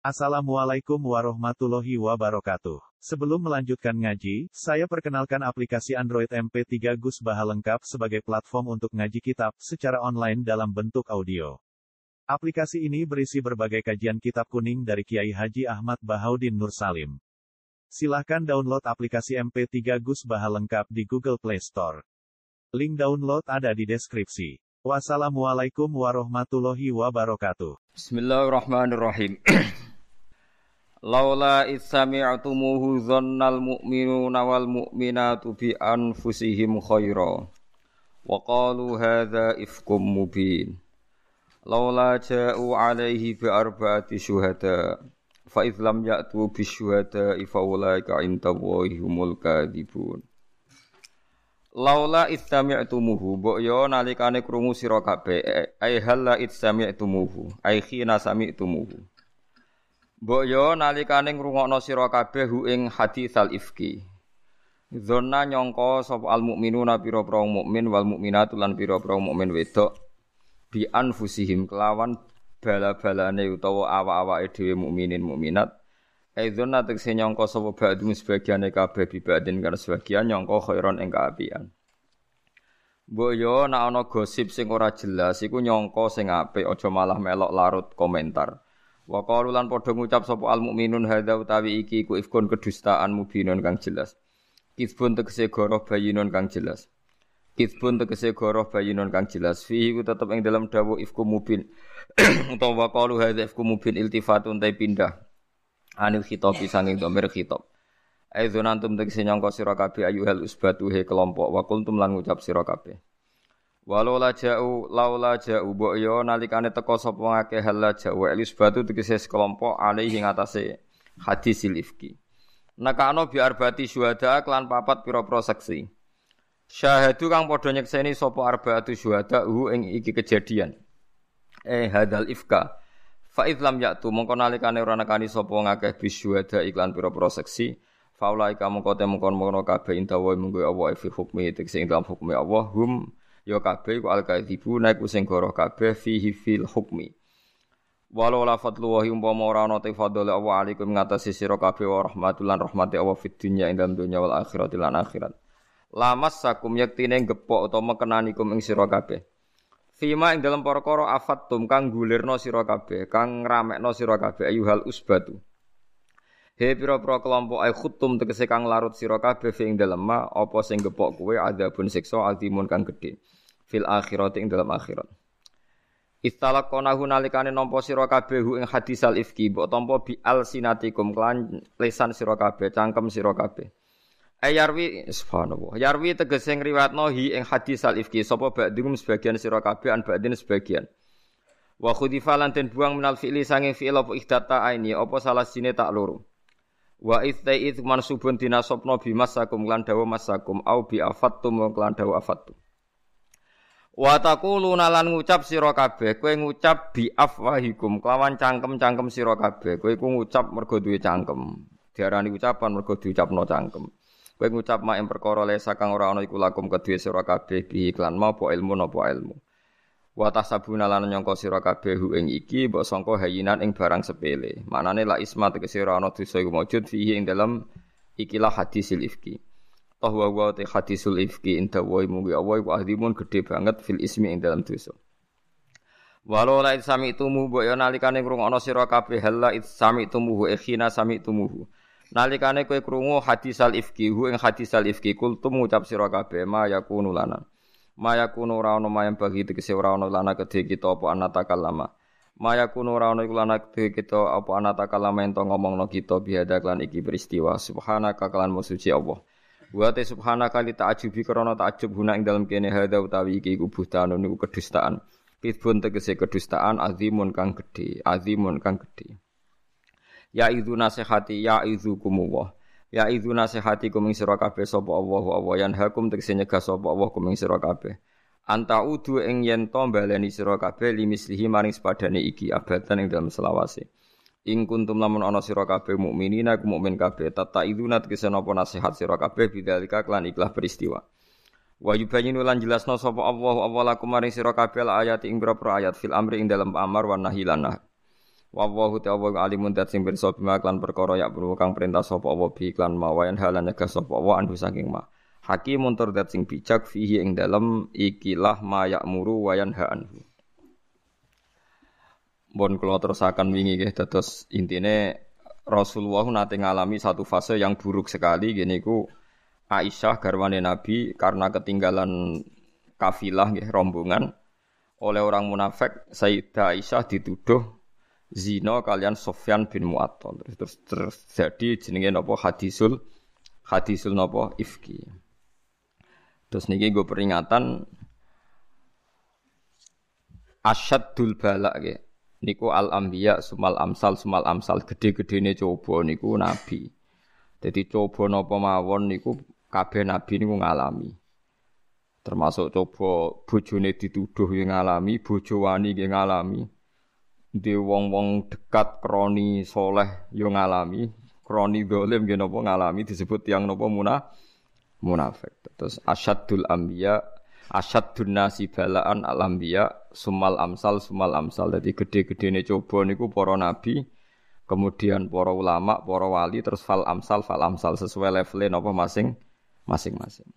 Assalamualaikum warahmatullahi wabarakatuh. Sebelum melanjutkan ngaji, saya perkenalkan aplikasi Android MP3 Gus Baha lengkap sebagai platform untuk ngaji kitab secara online dalam bentuk audio. Aplikasi ini berisi berbagai kajian kitab kuning dari Kiai Haji Ahmad Bahaudin Nur Salim. Silahkan download aplikasi MP3 Gus Baha lengkap di Google Play Store. Link download ada di deskripsi. Wassalamualaikum warahmatullahi wabarakatuh. Bismillahirrahmanirrahim. Laula itsami'tumuhu dzannal mu'minuna wal mu'minatu bi anfusihim khaira wa qalu hadza ifkum mubin. Laula ja'u 'alaihi bi arba'ati syuhada fa idz lam ya'tu bi syuhada fa ulaika 'indallahi humul kadzibun. Laula itsami'tumuhu mbok yo nalikane krungu sira kabeh ai halla itsami'tumuhu ai khina sami'tumuhu. Mbok yo nalikane ngrungokno sira kabeh hu ing haditsal ifki. Dzonna nyangka sapa al mukminuna pira-pira mukmin wal mukminatu lan pira-pira mukmin wedok bi anfusihim kelawan bala-balane utawa awak-awake dhewe mukminin mukminat. Dzonna tekse nyangka sapa ba'dhum sebagiane kabeh bi ba'din kan sebagian nyangka khairon ing kaapian. Mbok yo nek ana gosip sing ora jelas iku nyangka sing apik aja malah melok larut komentar. Wa qalu lan padha ngucap sapa al mukminun hadza utawi iki iku ifkun kedustaan mubinun kang jelas. Kizbun tegese goroh bayinun kang jelas. Kizbun tegese goroh bayinun kang jelas. Fihi ku tetep ing dalam dawuh ifku mubin. Utawa qalu hadza ifku mubin iltifatun ta pindah. Anil khitabi sanging dhamir khitab. Aizun antum tegese nyangka sira kabeh ayuhal usbatu he kelompok wa kuntum lan ngucap sira kabeh. Laula ja'u mbok yo nalikane teka sapa ngakeh halla ja'u elisbatu tegese sekelompok alaihi ngatasé hadisil ifki. Nakano bi arbati syuhada kelan papat pira-pira saksi. Syahadu kang padha nyekseni sapa arbaatu syuhada ing iki kejadian. Hadal ifka. Fa idlam ya'tu mongko nalikane ora nekani sapa ngakeh bi syuhada iklan pira-pira saksi. Faulaika mongko temungkon kabeh indawa munggo Allah fi hukmi tegese ing dalam hukmi Allah ya kabeh ku al-kadzibu nek sing goroh kabeh fihi fil hukmi. Walau la fadlu wa umpama ora ana te fadhole Allah alaikum ngatasi sira kabeh wa rahmatulan rahmati Allah fid dunya ing dalem dunya wal akhirat lan akhirat. Lamassakum yaktine gepok utawa mekenanikum ing sira kabeh. Fima ing dalem perkara afattum kang gulirno sira kabeh, kang ngramekno sira kabeh ayuhal usbatu. He pira-pira kelompok ay khuttum tegese kang larut sira kabeh ing dalem ma apa sing gepok kowe adzabun siksa azimun kang gedhe. Fil akhirat ing dalam akhirat. Istalaqonahu nalikane nampa sira kabeh ing hadisal ifki mbok tampa bi alsinatikum klan lisan sira kabeh cangkem sira kabeh. Ayarwi subhanallah. Yarwi tegese ngriwatno hi ing hadisal ifki sapa ba'dhum sebagian sira kabeh an ba'din sebagian. Wa khudifa lan den buang minal fi'li sange fi'il apa ihdata aini apa salah sine tak loro. Wa idzaiz mansubun dinasabna bi masakum lan dawa masakum au bi afattum lan dawa afattum. Wa taquluna lan ngucap sira kabeh kowe ngucap bi afwahikum kelawan cangkem-cangkem sira kabeh kowe iku ngucap mergo duwe cangkem diarani ucapan mergo diucapno cangkem kowe ngucap mak ing perkara lesa kang ora ana iku lakum kedue sira kabeh bi iklan mau apa ilmu napa ilmu wa tasabuna lan nyangka sira kabeh ing iki mbok sangka hayinan ing barang sepele maknane la isma tegese ora ana dosa iku maujud fihi ing dalem ikilah hadisil ifki. Tahwa wa te hadisul ifki inda wa mugi Allah iku azimun gedhe banget fil ismi ing dalam dosa. Walau la sami'tumu mbok yo nalikane ngrungokno sira kabeh halla sami'tumuhu ikhina sami'tumuhu. Nalikane kowe krungu hadisal ifki ing hadisal ifki kultum ngucap sira kabeh ma yakunu lana. Ma yakunu ora ono mayang bagi tegese ora ono lana kedhe kita apa anatakal lama. Ma yakunu ora ono iku lana kedhe kita apa anatakal lama ento ngomongno kita biada klan iki peristiwa subhanaka klan musuci Allah. Wa ta subhanaka li ta'ajubi krana ta'ajub guna ing dalem kene hadza utawi iki iku buhtanun niku kedustaan. Kidbun tegese kedustaan azimun kang gedhe, azimun kang gedhe. Ya idzu nasihati ya idzukumullah. Ya idzu nasihati kum ing sira kabeh sapa Allah yan hakum tegese nyegah sapa Allah kum ing sira kabeh. Anta udu ing yen to baleni sira kabeh limislihi maring sepadane iki abadan ing dalem selawase. Ing kuntum lamun ana sira kabeh mukminina ku mukmin kabeh tata iduna tegese napa nasihat sira kabeh bidzalika klan ikhlas peristiwa. Wa yubayyinu lan jelasna sapa Allah lakum maring sira kabeh ayat ing boro ayat fil amri ing dalem amar wan nahi lan nahy. Wallahu ta'ala alimun dat sing pirsa bima klan perkara ya perlu kang perintah sapa Allah bi klan mawayan halan nyegah sapa Allah anhu saking ma. Hakimun tur dat sing bijak fihi ing dalem ikilah ma ya'muru wa yanha anhu. Bon kula terusaken wingi nggih dados intine Rasulullah nate ngalami satu fase yang buruk sekali gini ku Aisyah garwane Nabi karena ketinggalan kafilah nggih rombongan oleh orang munafik Sayyidah Aisyah dituduh zina kalian Sufyan bin Mu'attal terus terjadi jenenge napa hadisul napa ifki. Terus niki nggo peringatan asyaddul bala nggih. Niku al-anbiya sumal amsal gede-gedene coba niku nabi. Jadi coba napa mawon niku kabeh nabi niku ngalami. Termasuk coba bojone dituduh yo ngalami, bojo wani nggih ngalami. Di wong-wong dekat kroni soleh yo ngalami, kroni zalim nggih napa ngalami disebut tiyang napa munafik. Terus asyaddul anbiya asyadun nasi balaan al-anbiya sumal amsal. Jadi gede-gedene coba niku para nabi, kemudian para ulama, para wali, terus fal amsal sesuai levelnya napa masing-masing.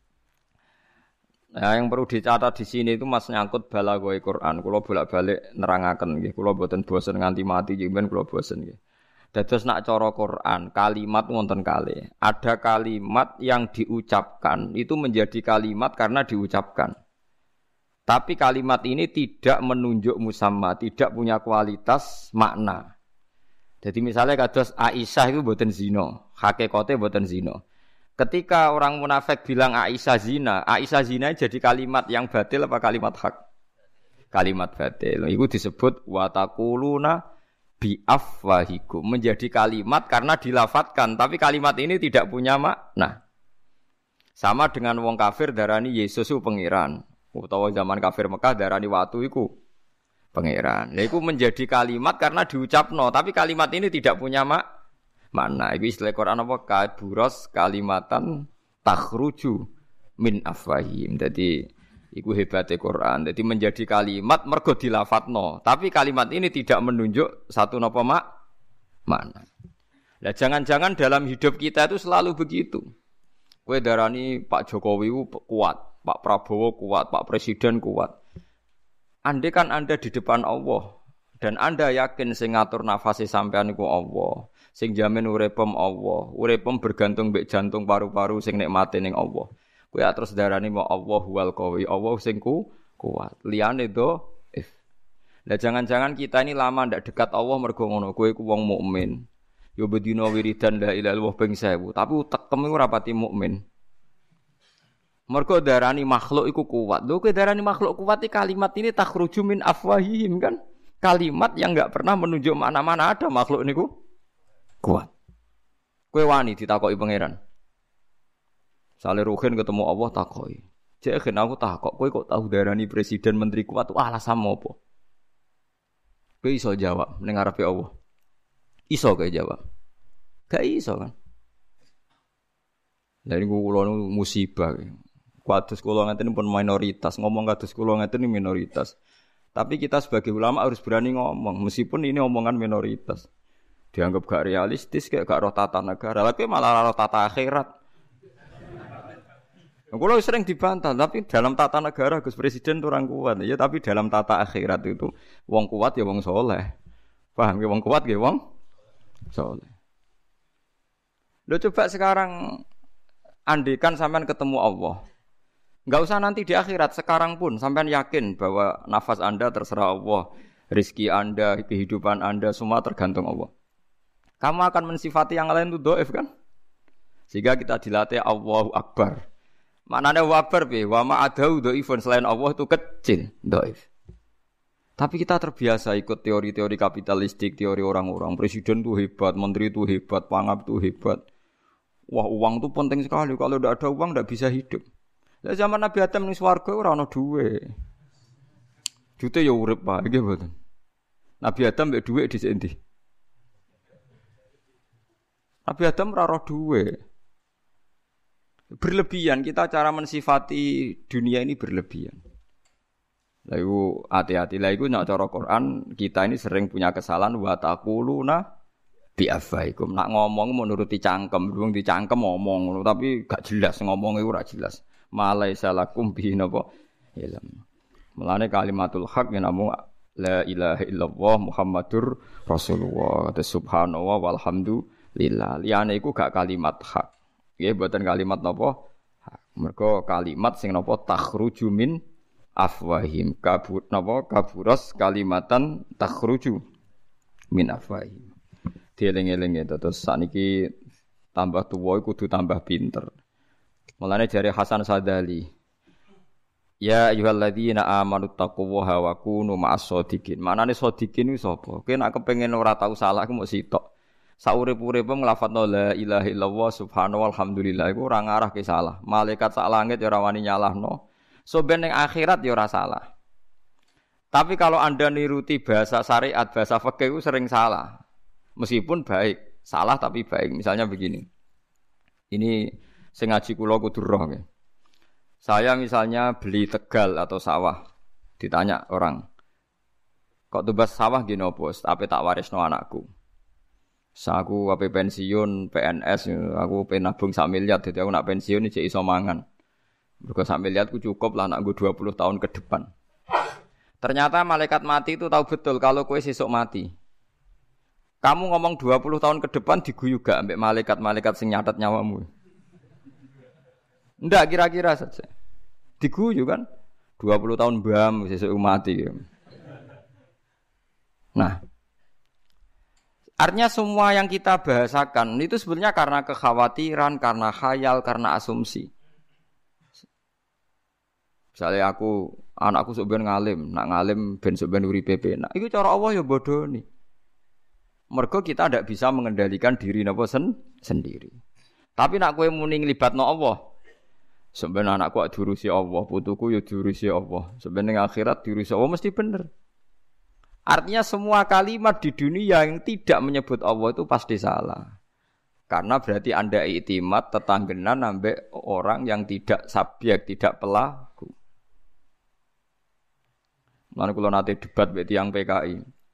Nah, yang perlu dicatat di sini itu Mas nyangkut balaghah Quran. Kula bolak-balik nerangaken nggih. Kula mboten bosen nganti mati jenengan kula bosen nggih. Dados nak cara Quran, kalimat wonten kalih. Ada kalimat yang diucapkan itu menjadi kalimat karena diucapkan. Tapi kalimat ini tidak menunjuk musamma, tidak punya kualitas makna. Jadi misalnya kados Aisyah itu mboten zina, hakikate mboten zina. Ketika orang munafik bilang Aisyah zina jadi kalimat yang batil apa kalimat hak? Kalimat batil. Itu disebut wa taquluna bi afwahikum, menjadi kalimat karena dilafatkan, tapi kalimat ini tidak punya makna. Sama dengan wong kafir darani Yesus itu pangeran, utawa zaman kafir Mekah darani watu iku pangeran. Lha iku menjadi kalimat karena diucapno, tapi kalimat ini tidak punya makna. Iku istilah Quran apa? Kaburos kalimatan takhruju min afwahim. Jadi iku hebate Quran. Jadi menjadi kalimat mergo dilafatno, tapi kalimat ini tidak menunjuk satu napa makna. Lah jangan-jangan dalam hidup kita itu selalu begitu. Kowe darani Pak Jokowi kuat, Pak Prabowo kuat, Pak Presiden kuat. Andai kan Anda di depan Allah dan Anda yakin sing ngatur nafase sampean iku Allah, sing jamin uripem Allah, uripem bergantung mbek jantung paru-paru sing nikmate ning Allah. Kowe terus darani mau Allah wal qawi, Allah sing kuat. Liyane Lah jangan-jangan kita ini lama ndak dekat Allah mergo ngono. Kowe ku wong mukmin. Yo bedina wiridan la ilaha illallah ping 1000, tapi utekem iku ora pati mukmin. Mergo darani makhluk iku kuat. Lho kowe darani makhluk kuat iki kalimat ini takhruju min afwahihim kan? Kalimat yang enggak pernah menunjuk mana-mana ada makhluk niku kuat. Kowe wani ditakoki pangeran. Sale Ruhin ketemu Allah takoki. Cek gen aku takok, kowe kok tahu darani presiden menteri kuat alasan apa? Kowe iso jawab ning ngarepe Allah. Iso kowe jawab. Gak iso kan? Lah niku kula musibah. Kados kula ngeten pun minoritas, ngomong kados kula ngeten minoritas. Tapi kita sebagai ulama harus berani ngomong meskipun ini omongan minoritas. Dianggap gak realistis kayak gak roh tata negara, tapi malah roh tata akhirat. Kalau sering dibantah, tapi dalam tata negara Gus Presiden itu orang kuat, ya. Tapi dalam tata akhirat itu, wong kuat ya wong soleh, paham ya wong kuat ya wong soleh. Lo coba sekarang, andikan sampean ketemu Allah, nggak usah nanti di akhirat, sekarang pun sampean yakin bahwa nafas Anda terserah Allah, rezeki Anda, kehidupan Anda semua tergantung Allah. Kamu akan mensifati yang lain itu doif kan? Sehingga kita dilatih Allahu Akbar. Maknanya wabar be, wa ma'adau dhaifun selain Allah itu kecil, dhaif. Tapi kita terbiasa ikut teori-teori kapitalistik, teori orang-orang. Presiden itu hebat, menteri itu hebat, pangap itu hebat. Wah, uang itu penting sekali. Kalau tidak ada uang tidak bisa hidup. Lah zaman Nabi Adam ning swarga ora ana duwe. Jute ya urip wae nggih mboten. Nabi Adam mbek dhuwit dhisik endi? Nabi Adam ora roh duwe. Berlebihan kita cara mensifati dunia ini berlebihan. Lah iku hati-hati. Lah iku nek cara Quran kita ini sering punya kesalahan wa taquluna bi afaikum. Nak ngomong mau nuruti cangkem, wong dicangkem ngomong, tapi gak jelas ngomong iku ora jelas. Malaisa lakum bi napa ilm. Mulane kalimatul haq yen namung la ilaha illallah Muhammadur Rasulullah. Subhanallah walhamdulillah. Liyane iku gak kalimat hak. Nggih mboten kalimat napa hak. Mergo kalimat sing napa takhruju min afwahim kaburas kalimatan takhruju min afwahim. Dieling-eling terus sakniki tambah tuwa kudu tambah pinter. Mulane jare Hasan Sadali, ya ayyuhalladzina amanu taqullaha wa kunu ma'as shodiqin. Manane shodiqin kuwi sapa? Kowe nek kepengin ora tau salah ku mok sitok. Saurip-uripe nglafadzna la ilaha illallah subhanallah walhamdulillah iku ora ngarah ke salah. Malaikat sak langit ya ora wani nyalahno. So ben ning akhirat ya ora salah. Tapi kalau Anda niruti bahasa syariat, bahasa fikih itu sering salah. Meskipun baik, salah tapi baik. Misalnya begini. Ini sing ngaji kula kudu roh nggih. Saya misalnya beli tegal atau sawah. Ditanya orang, "Kok tebas sawah gini opo?" Tapi tak warisno anakku. Aku ape pensiun PNS, aku pengen nabung 1 miliar, jadi aku nak pensiun iki iso mangan. Mergo 1 miliarku cukup lah nak 20 tahun ke depan. Ternyata malaikat mati itu tahu betul kalau kowe sesuk mati. Kamu ngomong 20 tahun ke depan diguyu gak ambek malaikat-malaikat sing nyatet nyawamu? Ndak kira-kira saja. Diguyu kan? 20 tahun bam sesuk mati. Nah, artinya semua yang kita bahasakan itu sebenarnya karena kekhawatiran, karena khayal, karena asumsi. Misalnya anakku sok ben ngalim, nak ngalim ben sok ben uripe penak. Iku cara Allah ya bodoni. Mergo kita ndak bisa mengendalikan diri napa sendiri. Tapi nak kowe muni nglibatno Allah, sebenarnya anakku diurusi Allah, putuku ya diurusi Allah. Sebenarnya akhirat diurusi Allah mesti bener. Artinya semua kalimat di dunia yang tidak menyebut Allah itu pasti salah. Karena berarti Anda iktimat tetanggenan ambek orang yang tidak subjek, tidak pelaku. Lan kula nate debat mbek tiyang PKI.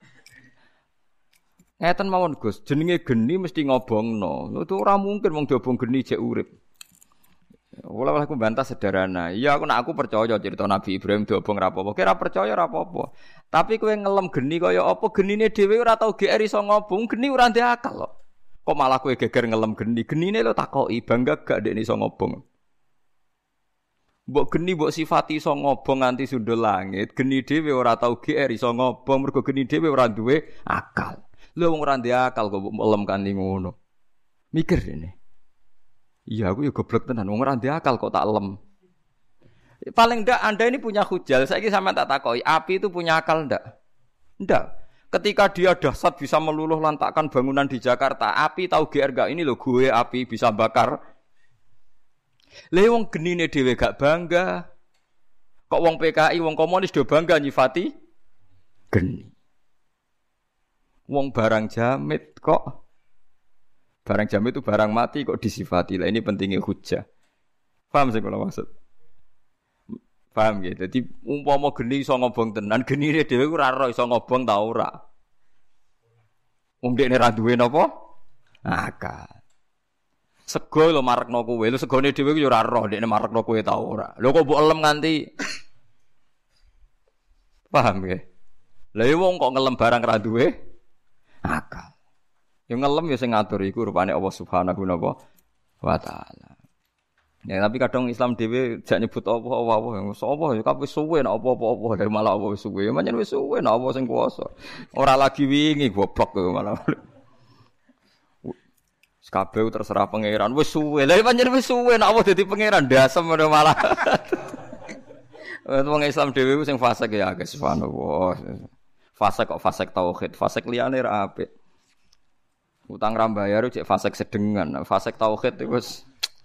Ngeten mawon Gus, jenenge geni mesti ngobongno. Itu ora mungkin wong diobong geni jek urip. Wala aku bantah sederhana. Iya aku percaya cerita Nabi Ibrahim diobong ra apa-apa. Kira percaya ra apa-apa. Tapi kowe ngelem geni kaya apa genine dhewe ora tau GR iso ngobong, geni ora ndek akal kok. Kok malah kowe geger ngelem geni. Genine lho takoki bangga gak ndek iso ngobong. Mbok geni mbok sifati iso ngobong nganti sundul langit, geni dhewe ora tau GR iso ngobong mergo geni dhewe ora duwe akal. Lha wong ora ndek akal kok mbok lem kanthi ngono. Mikir ini. Iya aku ya goblok tenan wong ora ndek akal kok tak lem. Paling ndak Anda ini punya hujal. Saiki sampean tak takoki, api itu punya akal ndak? Ndak. Ketika dia dahsyat bisa meluluh lantakkan bangunan di Jakarta, api tahu GR gak ini lho gue api bisa bakar. Lha wong genine dhewe gak bangga. Kok wong PKI, wong komunis do bangga nyifati geni. Wong barang jamit kok barang jamit itu barang mati kok disifati. Lah ini pentingnya hujah. Paham sing kula maksud? Paham ya? Jadi umpama geni iso ngobong tenan, genine dhewe ora ora iso ngobong ta ora. Wong dekne ra duwe napa? Akal. Sego lho marekno kowe, lho segone dhewe ku yo ora roh dekne marekno kowe ta ora. Lho kok mbok elem nganti paham ya? Lah wong kok ngelem barang ra duwe akal. Yo ngelem yo sing ngatur iku rupane Allah Subhanahu wa taala. Ya tapi kadang Islam dhewe jak nyebut apa sapa ya kabeh suwe nek apa-apa dari malah apa wis suwe. Pancen wis suwe nek apa sing kuwasa. Ora lagi wingi goblok kok malah. Kabeh terserah pangeran wis suwe. Lah pancen wis suwe nek apa dadi pangeran dasem malah. Wong Islam dhewe sing fasik ya akeh subhanallah. Fasik kok fasik tauhid, fasik liyane ra apik. Utang ra bayar cek fasik sedengan, fasik tauhid iku wis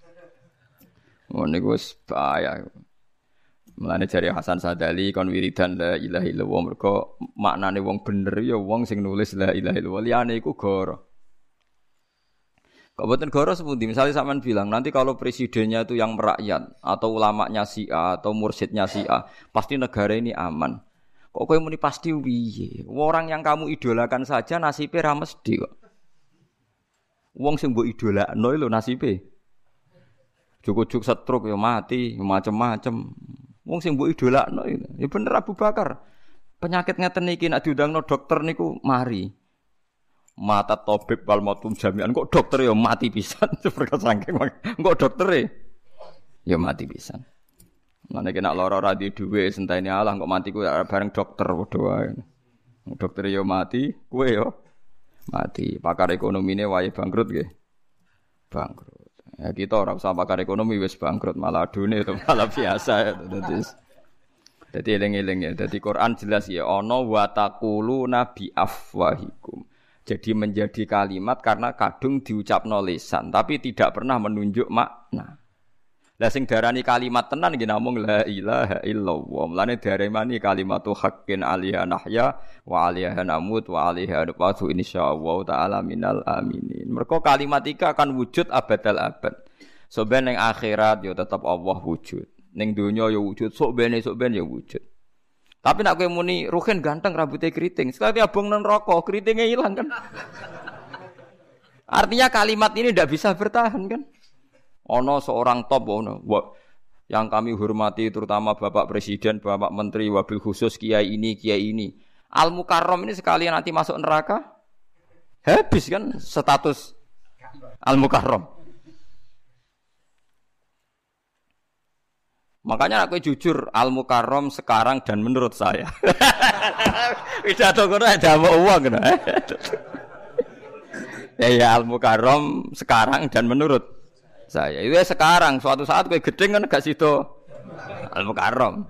niku wis bahaya. Mulane jare Hasan Sadali kon wiridan la ilaha illallah mergo maknane wong bener ya wong sing nulis la ilaha illallah liyane iku goro. Kok boten goro sepundi? Misalnya sampean bilang nanti kalau presidennya itu yang merakyat atau ulamanya si A atau mursyidnya si A, pasti negara ini aman. Kok kowe muni pasti piye? Orang yang kamu idolakan saja nasibe ra mesti kok. Wong sing mbok idolakno lho nasibe. Cukup-cukup stroke ya mati, macem-macem. Wong sing mbok idolakno ya bener Abu Bakar. Penyakit ngeten iki nek diundangno dokter niku mari. Mata tobib wal mautum jami'an kok dokter ya mati pisan perkara saking kok dokter ya mati pisan. Mane kena lara ora di dhuwit sentene Allah kok mati ku bareng dokter padha wae. Dokter ya mati, kowe ya mati. Pakar ekonomine wae bangkrut nggih. Bangkrut. Ya kita ora usah pakar ekonomi wis bangkrut malah adune itu malah biasa ya. Dadi eling-eling ya. Dadi Quran jelas ya ana wa taquluna bi afwahikum. Jadi menjadi kalimat karena kadung diucapno lisan tapi tidak pernah menunjuk makna. Lah sing darani kalimat tenan nggih namung la ilaha illallah. Mulane daremani kalimatu haqqin alaiha nahya wa alaiha namut wa alaiha nubatu insyaallah taala minal aminin. Mergo kalimat iki akan wujud abadal abad. So ben ning akhirat ya tetep Allah wujud. Ning donya ya wujud, sok ben ya wujud. Tapi nak kowe muni Ruhin ganteng rambutnya keriting, sekali abang nang rokok keritingnya hilang kan. Artinya kalimat ini tidak bisa bertahan kan. Ono seorang top ono yang kami hormati terutama Bapak Presiden, Bapak Menteri, wabil khusus kiai ini. Al Mukarram ini sekali nanti masuk neraka habis kan status Al Mukarram. Makanya aku jujur Al Mukarram sekarang dan menurut saya. Pidato kono ada uang kan. Ya Al Mukarram sekarang dan menurut saya. Itu ya sekarang suatu saat kowe gedeng kan gak sido Al Mukarram.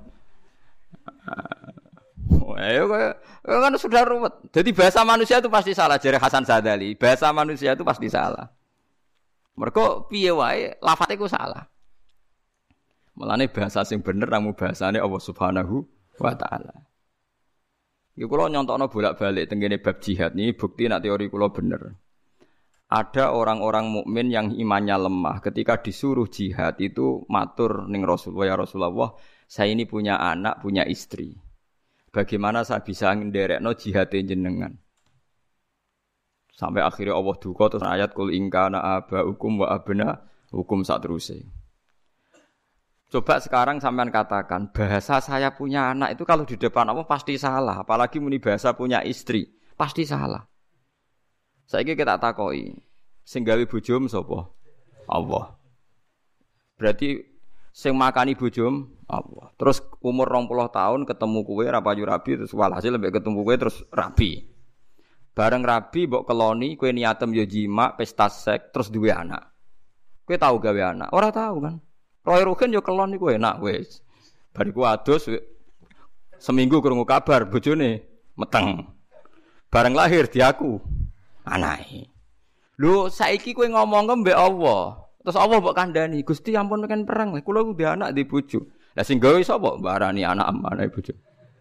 Ayo kan sudah ruwet. Jadi bahasa manusia itu pasti salah jare Hasan Sadali. Bahasa manusia itu pasti salah. Mergo piye wae lafate ku salah. Mulane bahasa sing bener namu bahasane Allah Subhanahu wa taala. Iki kula nyontokno bolak-balik tengene bab jihad niki bukti nek teori kula bener. Ada orang-orang mukmin yang imannya lemah ketika disuruh jihad itu matur ning Rasulullah, ya Rasulullah, saya ini punya anak, punya istri. Bagaimana saya bisa ngenderekno jihad jenengan? Sampai akhirnya Allah duka terus ayat kul in kana abaukum wa abna hukum sak teruse. Coba sekarang sampean katakan bahasa saya punya anak itu kalau di depan Allah pasti salah, apalagi muni bahasa punya istri, pasti salah. Saiki kita takoki, sing gawe bojom sapa? Allah. Berarti sing makani bojom Allah. Terus umur 20 tahun ketemu kowe ra payu rabi terus walhasil lembek ketemu kowe terus rabi. Bareng rabi mbok keloni kowe niatem yo jima, pesta seks terus duwe anak. Kowe tahu gawe anak? Ora tahu kan? Roy Ruhin yo kelon niku enak wis. Bariku adus seminggu krungu kabar bojone meteng. Bareng lahir diaku anake. Lho saiki kowe ngomong mbek Allah. Terus Allah mbok kandhani, Gusti ampun kan perang. Kula ku duwe anak di bojo. Lah sing gawe sapa? Barani anak amane bojo.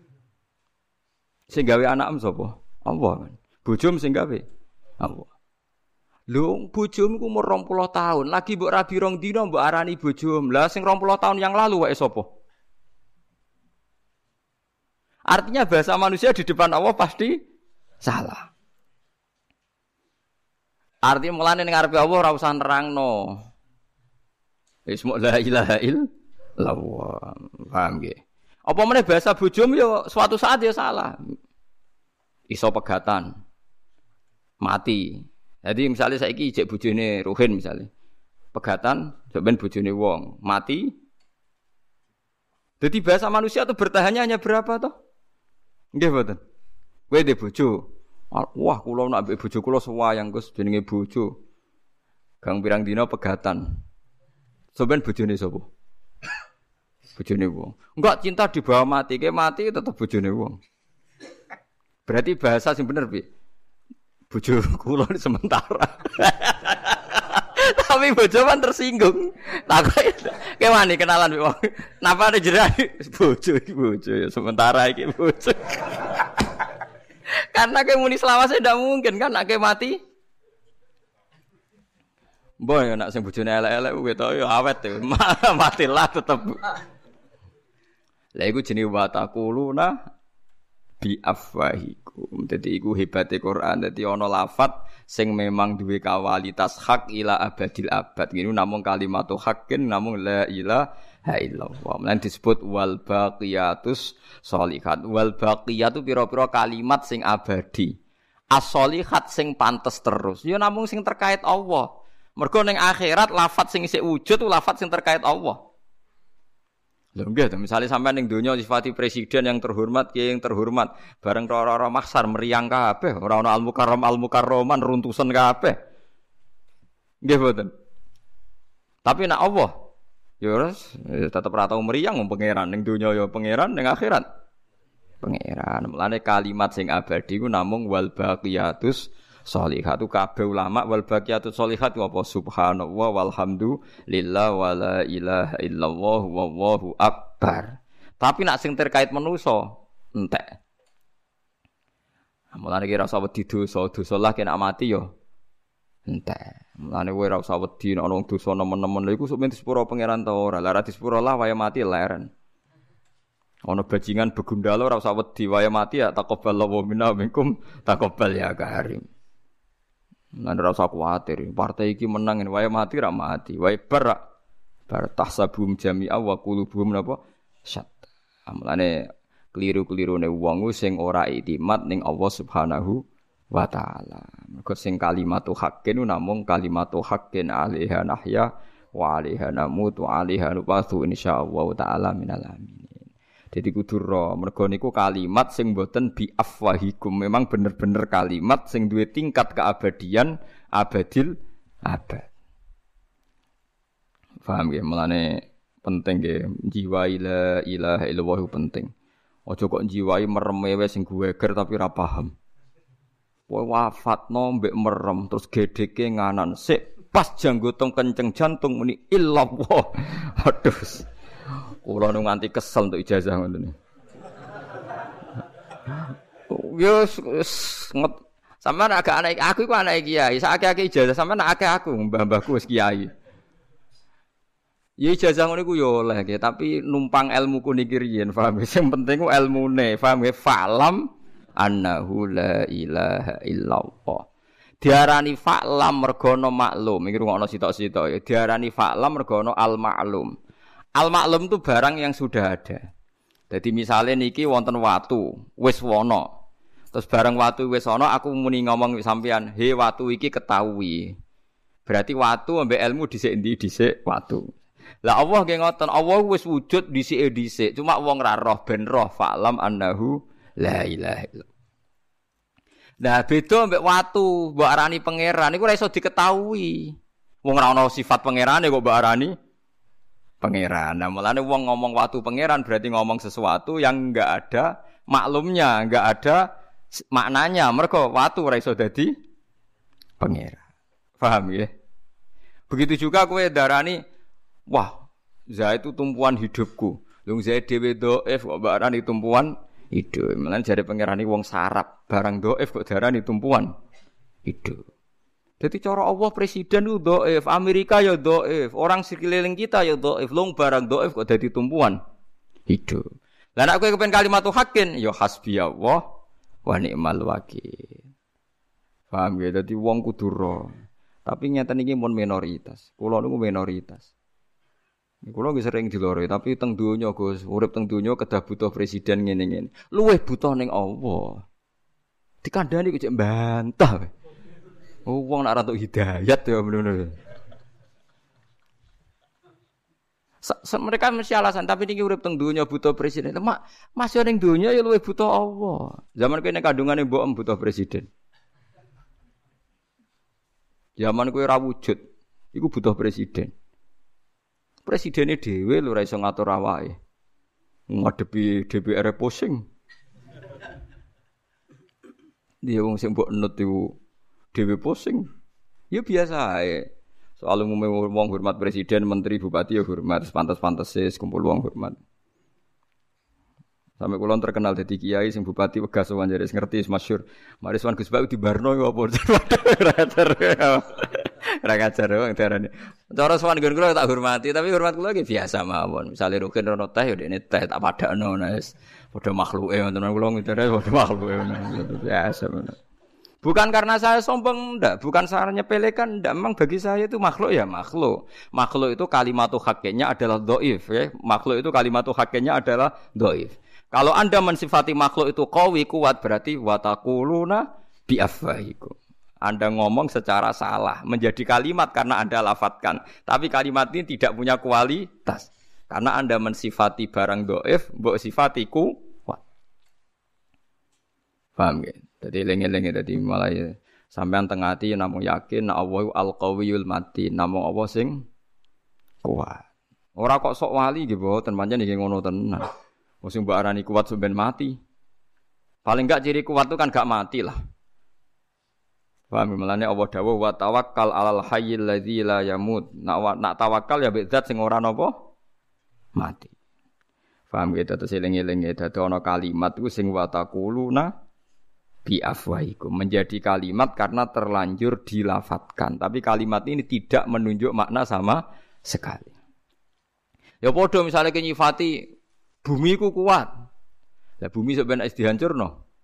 Sing gawe anak sapa? Allah. Bojom sing gawe Allah. Lho, bojomu ku umur 20 tahun, lagi mbok rabi rong dina mbok arani bojom. Lah sing 20 tahun yang lalu wae sapa? Artinya bahasa manusia di depan Allah pasti salah. Artinya mulane ning ngarepe Allah ora usah nerangno. Wis mok la ilaha illallah. Paham nggih? Apa meneh bahasa bojom ya suatu saat ya salah. Iso pegatan. Mati. Jadi misalnya saiki ijek bojone Ruhin misalnya. Pegatan, sampean bojone wong, mati. Jadi bahasa manusia itu bertahannya hanya berapa toh? Nggih mboten. Kowe ndek bojo. Wah, kula nak mbek bojo kula sewayang Gus jenenge bojo. Gang pirang dina pegatan. Sampeyan bojone sapa? Bojone wong. Enggak cinta dibawa mati, kayak mati tetep bojone wong. Berarti bahasa sing bener piye? Bojo kula sementara. Tapi bojo kan tersinggung. Takoki kewani kenalan wong. Napa ada jerak bojo iki bojo ya sementara iki bojo. Karena kayak muni selawase ndak mungkin kan nek mati. Mbah ya nek sing bojone elek-elek ketok ya awet ya. Matilah tetep. Lah iku jenenge wa taquluna bi afwahikum. Dadi iku hebate Quran. Dadi ana lafat sing memang duwe kualitas hak ila abadil abad. Ngene namung kalimatu haqqin namung la ilaha illallah. Lan disebut wal baqiyatus sholihat. Wal baqiyatu pira-pira kalimat sing abadi. As-sholihat sing pantes terus. Ya namung sing terkait Allah. Mergo ning akhirat lafat sing isih wujud ku lafat sing terkait Allah. Lho nggih, misalnya sampean ning donya sifati presiden yang terhormat, kiai yang terhormat, bareng ora-ora maksar meriang kabeh, ora ana al-mukarraman runtusan kabeh. Nggih mboten. Tapi nek Allah ya wis tetep ora tau meriang wong pangeran ning donya ya pangeran ning akhirat pangeran. Mulane kalimat sing abadi ku namung wal baqiyatus sholihatu kabeh ulama wal baqiyatus sholihat apa subhanallah walhamdulillah wala ilaha illallah wallahu akbar. Tapi nek sing terkait manusa entek. Mulane ki ora usah wedi dosa lah kena mati ya entek. Mulane kowe ora usah wedi nek ana dosa nemen-nemen lha iku sok men disepuro pangeran ta ora. Lah ora disepuro lah waya mati leren. Ana bajingan begundalo ora usah wedi waya mati ya taqabbalallahu minna minkum taqabbal ya karim. Lan ora usah kuwatir, partai iki menang wae mati ra mati, wae bar tahsabum jami'a wa qulubuhum napa syat. Amlane keliru-kelirune wong sing ora iktimat ning Allah Subhanahu wa taala. Mergo sing kalimatu haqqin namung kalimatu haqqin 'alaiha nahya wa 'alaiha namutu 'alaiha nubatu insyaallah taala minal amin. Jadi kudu ro, mergo niku kalimat sing mboten bi afwahikum, memang bener-bener kalimat sing duwe tingkat keabadian abadil abad. Paham nggih? Mulane penting nggih jiwa la ilaha illallah penting. Aja kok jiwai merem wae sing guweger tapi ora paham. Kowe wafatno mbek merem terus gedheke nganan sik pas janggotung kenceng jantung muni illallah. Aduh. Kula nu nganti kesel untuk ijazah ngoten. Yo sampean agak anak aku iku anak kiai, sakake ijazah sampean akeh aku mbah-mbahku wis kiai. Ya ijazah ngono iku yo oleh nggih, tapi numpang ilmuku niki riyen, paham. Sing penting ku ilmune, paham nggih? Falam annahu la ilaha illallah. Diarani fa'lam mergo ana maklum, iki rungokno sitok-sitok ya. Diarani fa'lam mergo ana al-ma'lum. Al-maklum itu barang yang sudah ada. Jadi misalnya niki wonten watu, wis wono. Terus barang watu wis wono, aku muni ngomong sampean, "He watu iki ketahui." Berarti watu ambek ilmu dhisik endi dhisik watu. Lah Allah nggih ngoten, Allah wis wujud dhisike dhisik, cuma wong ra roh ben roh fa'lam annahu la ilaha illallah. Nah, beda ambek watu, mbok arani pangeran iku ora iso diketahui. Wong ora ana sifat pangerane kok mbok arani pangeran. Nah, mulane wong ngomong watu pangeran berarti ngomong sesuatu yang enggak ada maklumnya, enggak ada maknanya. Mergo watu ora iso dadi pangeran. Paham ya? Begitu juga kowe darani, wah, za itu tumpuan hidupku. Lung za dhewe dhaif kok barani tumpuan hidup. Mulane jare pangeran iki wong sarap, barang dhaif kok darani tumpuan hidup. Jadi cara Allah presiden itu dhaif, Amerika ya dhaif, orang sekeliling kita ya dhaif, long barang dhaif kok dadi tumpuan hidup. Lah nek kowe kepen kalimatu haqqin ya hasbiyallah wa ni'mal wakil. Paham ya? Dadi wong kudu ro. Tapi nyata niki mun minoritas. Kula niku minoritas. Kula nggih sering dilore, tapi teng donya Gus, urip teng donya kedah butuh presiden ngene-ngene. Luwih butuh ning Allah. Dikandani kok cek bantah. Wong nek ora entuk hidayat ya bener-bener. Mereka mesti alasan, tapi niki urip teng donya butuh presiden. Mas yo ning donya ya luwih butuh Allah. Zaman kene kandungane mbok butuh presiden. Zaman kowe ora wujud, iku butuh presiden. Presidene dhewe lho ora iso ngatur awake. Ngadepi DPR pusing. Dia wong sing mbok enut iku dhewe pusing. Ya biasa ae. Soal umume wong hormat presiden, menteri, bupati ya hormat, pantes-pantese kumpul wong hormat. Sampai kula terkenal dadi kiai sing bupati Wegas wae ngerti masyhur. Mariswan Gus Bak dibarno apa. Ora ngajar wong darane. Cara sowan nggon kula tak hormati, tapi hormat kula iki biasa mawon. Misale rugen rono teh ya dekne teh tak padakno wis. Padha makhluke wonten kula ngidare padha makhluke biasa ngono. Bukan karena saya sombong, enggak. Bukan saya nyepelekan, enggak. Memang bagi saya itu makhluk ya makhluk. Makhluk itu kalimatu hakiknya adalah dhaif. Ya. Makhluk itu kalimatu hakiknya adalah dhaif. Kalau Anda mensifati makhluk itu qawi, kuat, berarti watakuluna biafwahikum. Anda ngomong secara salah. Menjadi kalimat karena Anda lafadzkan. Tapi kalimat ini tidak punya kualitas. Karena Anda mensifati barang dhaif, mbok sifati kuat. Paham ya? Jadi lengi-lengi tadi malah ya, sampean tengah hati namung yakin Allah al-qawiyul matin, namung Allah sing kuat. Ora kok sok wali nggih mboten pancen nggih ngono tenan. Wong sing mbok arani kuat sampean mati. Paling enggak ciri kuat itu kan gak mati lah. Paham melane Allah dawuh wa tawakkal 'alal hayyil ladzi la yamut. Nak tawakal ya mbek zat sing ora napa mati. Paham gitu terus eling-eling dadi ana kalimat iku sing wa taquluna bi afwahikum menjadi kalimat karena terlanjur dilafatkan, tapi kalimat ini tidak menunjuk makna sama sekali. Ya padha misale nyifati bumi ku kuat. Lah bumi sok ben dihancurno.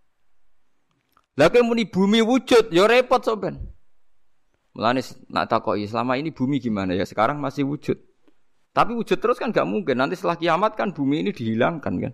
Lah kowe muni bumi wujud ya repot sok ben. Mulane nak takoki selama ini bumi gimana ya sekarang masih wujud. Tapi wujud terus kan gak mungkin. Nanti setelah kiamat kan bumi ini dihilangkan kan.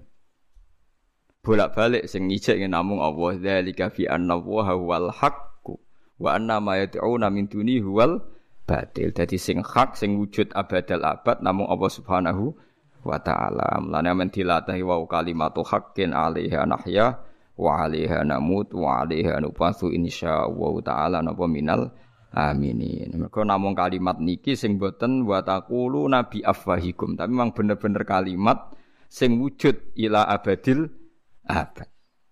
Bolak-balik sing ngijek namung Allah dzalika fi anna huwal haqqu wa anna ma yad'una min duni huwal batil. Dadi sing hak sing wujud abadal abad namung Allah Subhanahu wa taala. Mulane men dilatahi wa kalimatu haqqin 'alaiha nahya wa 'alaiha namut wa 'alaiha nufasu insyaallah taala napa minal aminin. Mergo namung kalimat niki sing boten wa taqulu nabi afwahikum, tapi memang bener-bener kalimat sing wujud ila abadil abad.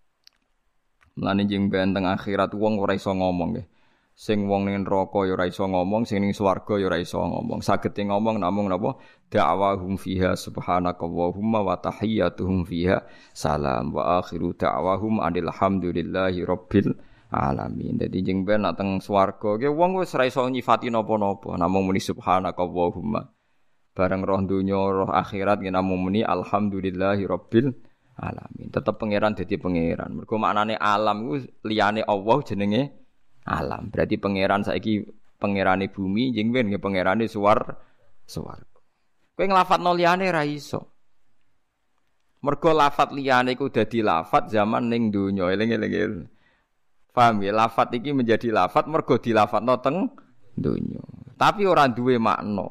Mulane jeng benteng akhirat wong ora iso ngomong nggih. Sing wong ning neraka ya ora iso ngomong, sing ning swarga ya ora iso ngomong. Sagete ngomong namung napa da'wahum fiha subhanakallahumma wa tahiyyatuhum fiha salam wa akhiru da'wahum alhamdulillahi rabbil alamin. Dadi jeng ben nak teng swarga ki wong wis ora iso nyifati napa-napa, namung muni subhanakallahumma. Bareng roh donya roh akhirat ki namung muni alhamdulillahi rabbil alamin. Tetap pangeran dadi pangeran. Mergo maknane alam iku liyane Allah jenenge alam. Berarti pangeran saiki pangerane bumi jeng ben nggih pangerane swarga. Kowe nglafadzno liyane ra iso. Mergo lafadz liyane iku dadi lafadz zaman ning donya. Eling-eling. Paham ya? Lafadz iki menjadi lafadz mergo dilafadzno teng donya. Tapi ora duwe makna.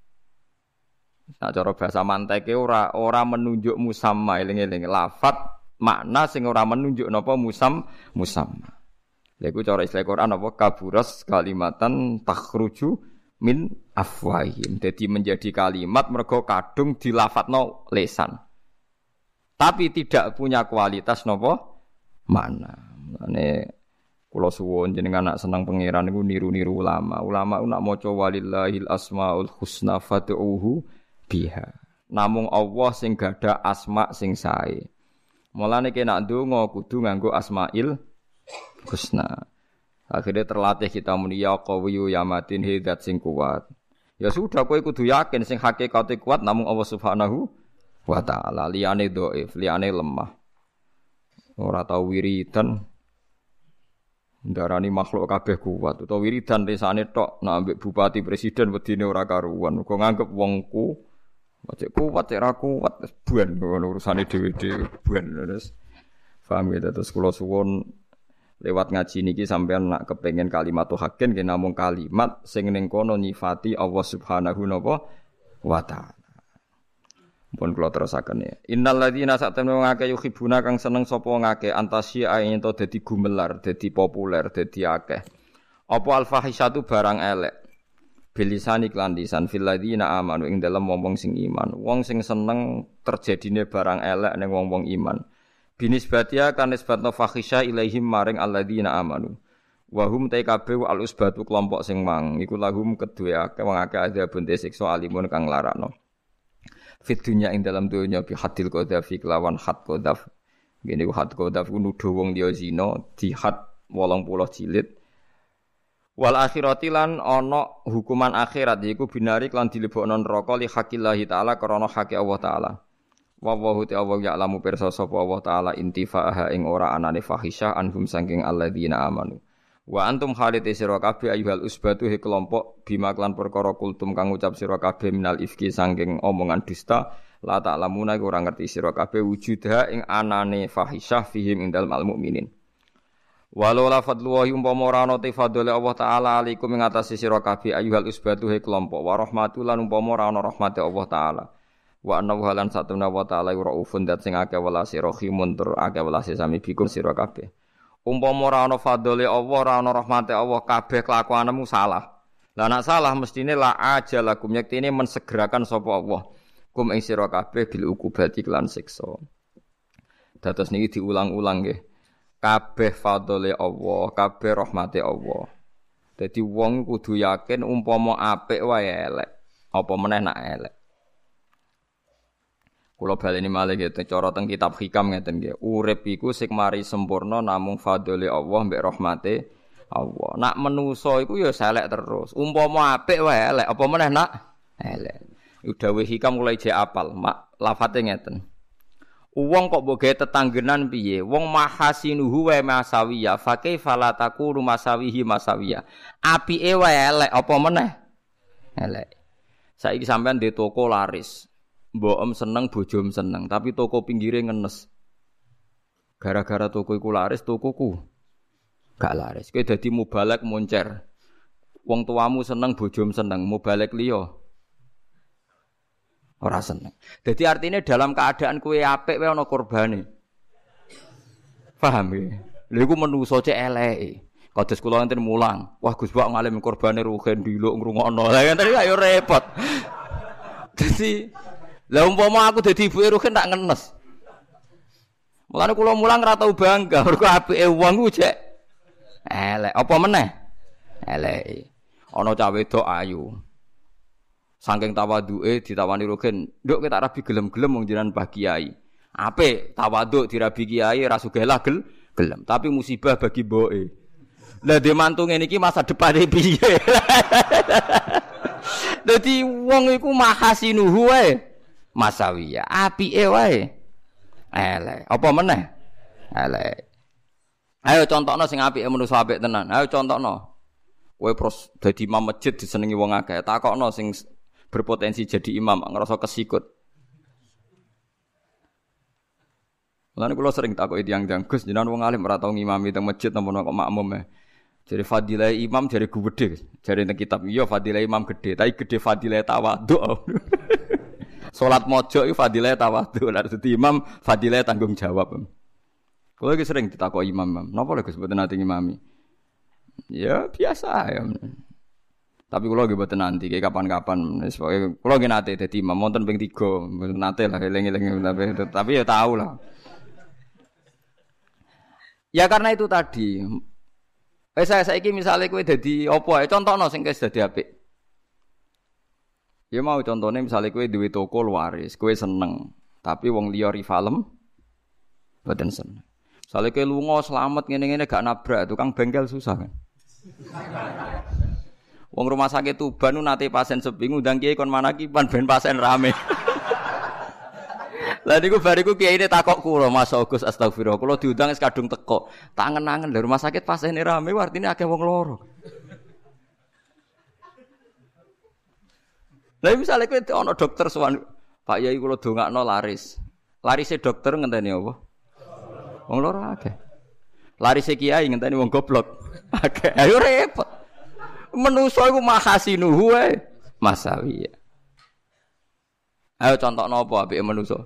Nah cara bahasa manteke ora menunjuk musamma, eling-eling lafadz makna sing ora menunjuk napa musamma. Lha iku cara istilah Quran apa kaburas kalimatan takhruju min afwahim. Jadi menjadi kalimat mergo kadung dilafadzno lisan. Tapi tidak punya kualitas napa makna. Mane kula suwun jenengan nak seneng pangeran niku niru-niru ulama. Ulama nak maca walillahil asmaul husna fad'uhu biha. Namung Allah sing gadah asma sing sae. Mulane nek ndonga kudu nganggo asmail husna. Akhirnya terlatih kita muni ya qawiyyu ya matin hidat sing kuat. Ya sudah kowe kudu yakin sing hakikate kuat namung Allah Subhanahu wa taala. Liyane dhaif, liyane lemah. Ora tau wiridan ndarani makhluk kabeh kuat utawa wiridan risane tok nek ambek bupati presiden wedine ora karuan. Kok nganggep wongku cek kuat cek ra kuat buan urusane dhewe-dhewe buan terus. Paham ya terus kula suwun lewat ngaji niki sampean nak kepengin kalimat haqqin nggih namung kalimat sing ning kono nyifati Allah Subhanahu wa taala. Pun kula terusaken ya. Innal ladzina sa'tamnu ngake yuhibuna kang seneng sapa ngake antasya ento dadi gumelar, dadi populer, dadi akeh. Apa al-fahisatu barang elek. Bilisani klan lisan fil ladzina amanu ing dalem wong sing iman. Wong sing seneng terjadine barang elek ning wong-wong iman. Binisbatia kan nisbatno fahisha ilaihim maring alladzina amanu. Wa hum taikabe al usbatu kelompok sing mang iku lahum kedue akeh wong akeh adzabun siksa alimun kang larakno. Fit dunya ing dalam dunya bi hadil qadhafi kelawan had qadhaf. Ngene ku had qadhaf ku nuduh wong liya zina di had 80 jilid. Wal akhirati lan ana hukuman akhirat yaiku binari lan dilebokno neraka li haqillahi taala krana hake Allah taala. Wa wa ta'ala ya'lamu pirsa sapa Allah taala intifa'aha ing ora anane fahisyah anhum saking alladzina amanu. Wa antum khalid sira kabeh ayyuhal usbatu he kelompok bima klan perkara kultum kang ucap sira kabeh minal ifki saking omongan dusta la ta'lamuna iku ora ngerti sira kabeh wujudha ing anane fahisyah fihim ing dalem al mukminin. Walau la fadlullahi umpama ora ana te fadhole Allah taala alaikum ing atase sira kabeh ayyuhal usbatu he kelompok wa rahmatul lan umpama ora ana rahmate Allah taala. Wa annahu halan satuna wa ta'ala raufun dat sing akeh welase rahimun tur akeh welase sami bikum sira kabeh. Umpama ora ana fadhole Allah, ora ana rahmate Allah, kabeh kelakuanmu salah. Lah nek salah mestine la ajalakum yektine mensegerakan sapa Allah. Kum ing sira kabeh bil ukubati lan siksa. Dados niki diulang-ulang nggih. Kabeh fadhole Allah, kabeh rahmate Allah. Dadi wong kudu yakin umpama apik wae elek, apa meneh nak elek. Kula baleni malih nggih cara teng kitab hikam ngeten nggih. Urip iku sing mari sempurna namung fadhole Allah mbek rahmate Allah. Nak menusa iku ya selek terus. Umpama apik wae elek, apa meneh nak elek. Iku dawuh hikam kula ijek apal, mak lafate ngeten. Wong kok mbok gawe tetanggenan piye? Wong mahasinuhu wa masawiya, fa kaifa la taqulu masawihi masawiya. Apike wae elek, apa meneh elek. Saiki sampean di toko laris. Mbok seneng bojom seneng, tapi toko pinggire ngenes. Gara-gara toko iku laris, tokoku gak laris. Kowe dadi mubalek moncer. Wong tuamu seneng bojom seneng, mubalek liya ora seneng. Dadi artine dalam keadaan kowe apik wae ana korbane. Paham ya? Lha iku menungso cek eleke. Kados kula enten mulang. Wah Gus Bak ngalim korbane rugen diluk ngrungokno. Lah enten ayo repot. Dadi lah umpama aku dadi ibuke rugen tak ngenes. Mulane kula mulang ora tau bangga mergo apike wong ku jek elek. Apa meneh? Elek. Ana cah wedok ayu. Saking tawaduke ditawani rugen, "Nduk kowe tak rabi gelem-gelem wong jenengan Mbah Kiai." Apik tawaduk dirabi kiai ora sugih lah gelem, tapi musibah bagi mboke. Lah dhe mantu ngene iki masa depane piye? Dadi wong iku mahasinuhu wae masawiya, apike wae elek. Apa meneh? Elek. Ayo contohno sing apike manusa apik tenan. Ayo contohno. Kowe pros dadi imam masjid disenengi wong akeh. Takokno sing berpotensi jadi imam ngerasa kesikut. Lan kula sering takoki tiyang-tiyang, Gus jenengan wong alim ora tau ngimami teng masjid napa kok makmum e. Jadi fadilah imam jare gede, jare teng kitab iya fadilah imam gede, tapi gede fadilah tawadhu. Salat mojok iku fadilah tawadhu, lha dadi imam fadilah tanggung jawab. Kula iki sering ditakoki imam, napa lho Gus mboten nate ngimami? Ya biasa ya. Tapi kula nggih mboten nanti kapan-kapan wis pokoke kula nggih nate dadi imam wonten ping 3, nate lah eling-eling tapi ya tahu lah. Ya karena itu tadi. Saya saiki misale kowe dadi apa ae contohno sing wis dadi apik. Ya mau contone misale kowe duwe toko laris, kowe seneng, tapi wong liya rivalem mboten seneng. Misale kowe lunga slamet ngene-ngene gak nabrak, tukang bengkel susah kan. Wong rumah sakit Tuban nate pasien sepi ngundang kiai kon manakiban ben pasien rame. Lah niku bariku kiyaine takok kula, Mas Agus astagfirullah. Kula diundang wis kadung teko. Tak angen-angen lho rumah sakit pasiene rame artine akeh wong loro. Lah misale kowe ana dokter sowan, Pak Yai kula dongakno laris. Larise dokter ngenteni apa? Wong loro akeh. Larise kiai ngenteni wong goblok. Akeh. Ayo repot. Menusa iku mahasinuhu wae masawiya. Ayo contohno apa apike menusa?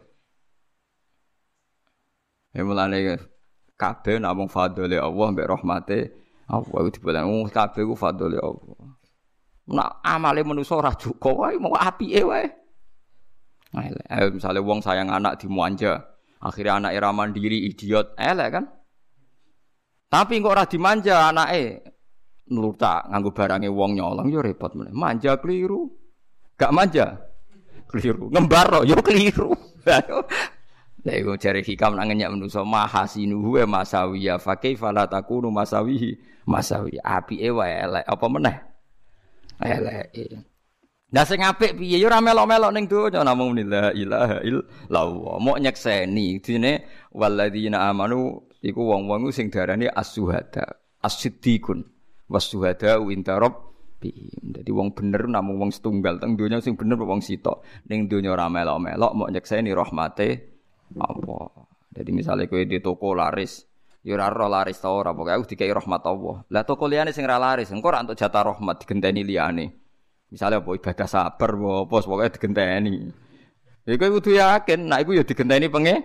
Ya mulane kabeh namung fadhole Allah mbek rahmate Allah iku diboleh kabeh ku fadhole Allah. Nek amale manusa ora cukup wae mau apike wae. Ayo misale wong sayang anak dimanja, akhirnya anake ra mandiri idiot, elek kan? Tapi kok ora dimanja anake nurta nganggo barange wong nyolong ya repot meneh. Manja keliru. Gak manja keliru. Ngembar yo keliru. Lah iku jare hikam nang ngenyak manusa mahasinuhu wa masawiya fa kaifa la takunu masawihi masawi apike wae elek apa meneh eleke. Lah sing apik piye ya ora melok-melok ning donya namung la ilaha illallah. Mok nyekseni dene walladzina amanu iku wong-wong sing diarani as-syuhada, as-siddiqun, was-syuhada inda rabbihim. Dadi wong bener namung wong setunggal teng donya sing bener wong sitok. Ning donya ora melok-melok mok nyekseni rahmate Allah. Jadi misalnya kowe di toko laris, ya ora ora laris ta ora, pokoke aku dikai rahmat Allah. Lah toko liyane sing ora laris, engko ora entuk jatah rahmat digenteni liyane. Misalnya apa ibadah sabar apa pokoke digenteni. Ya kowe kudu yakin nek iku ya digenteni pengir.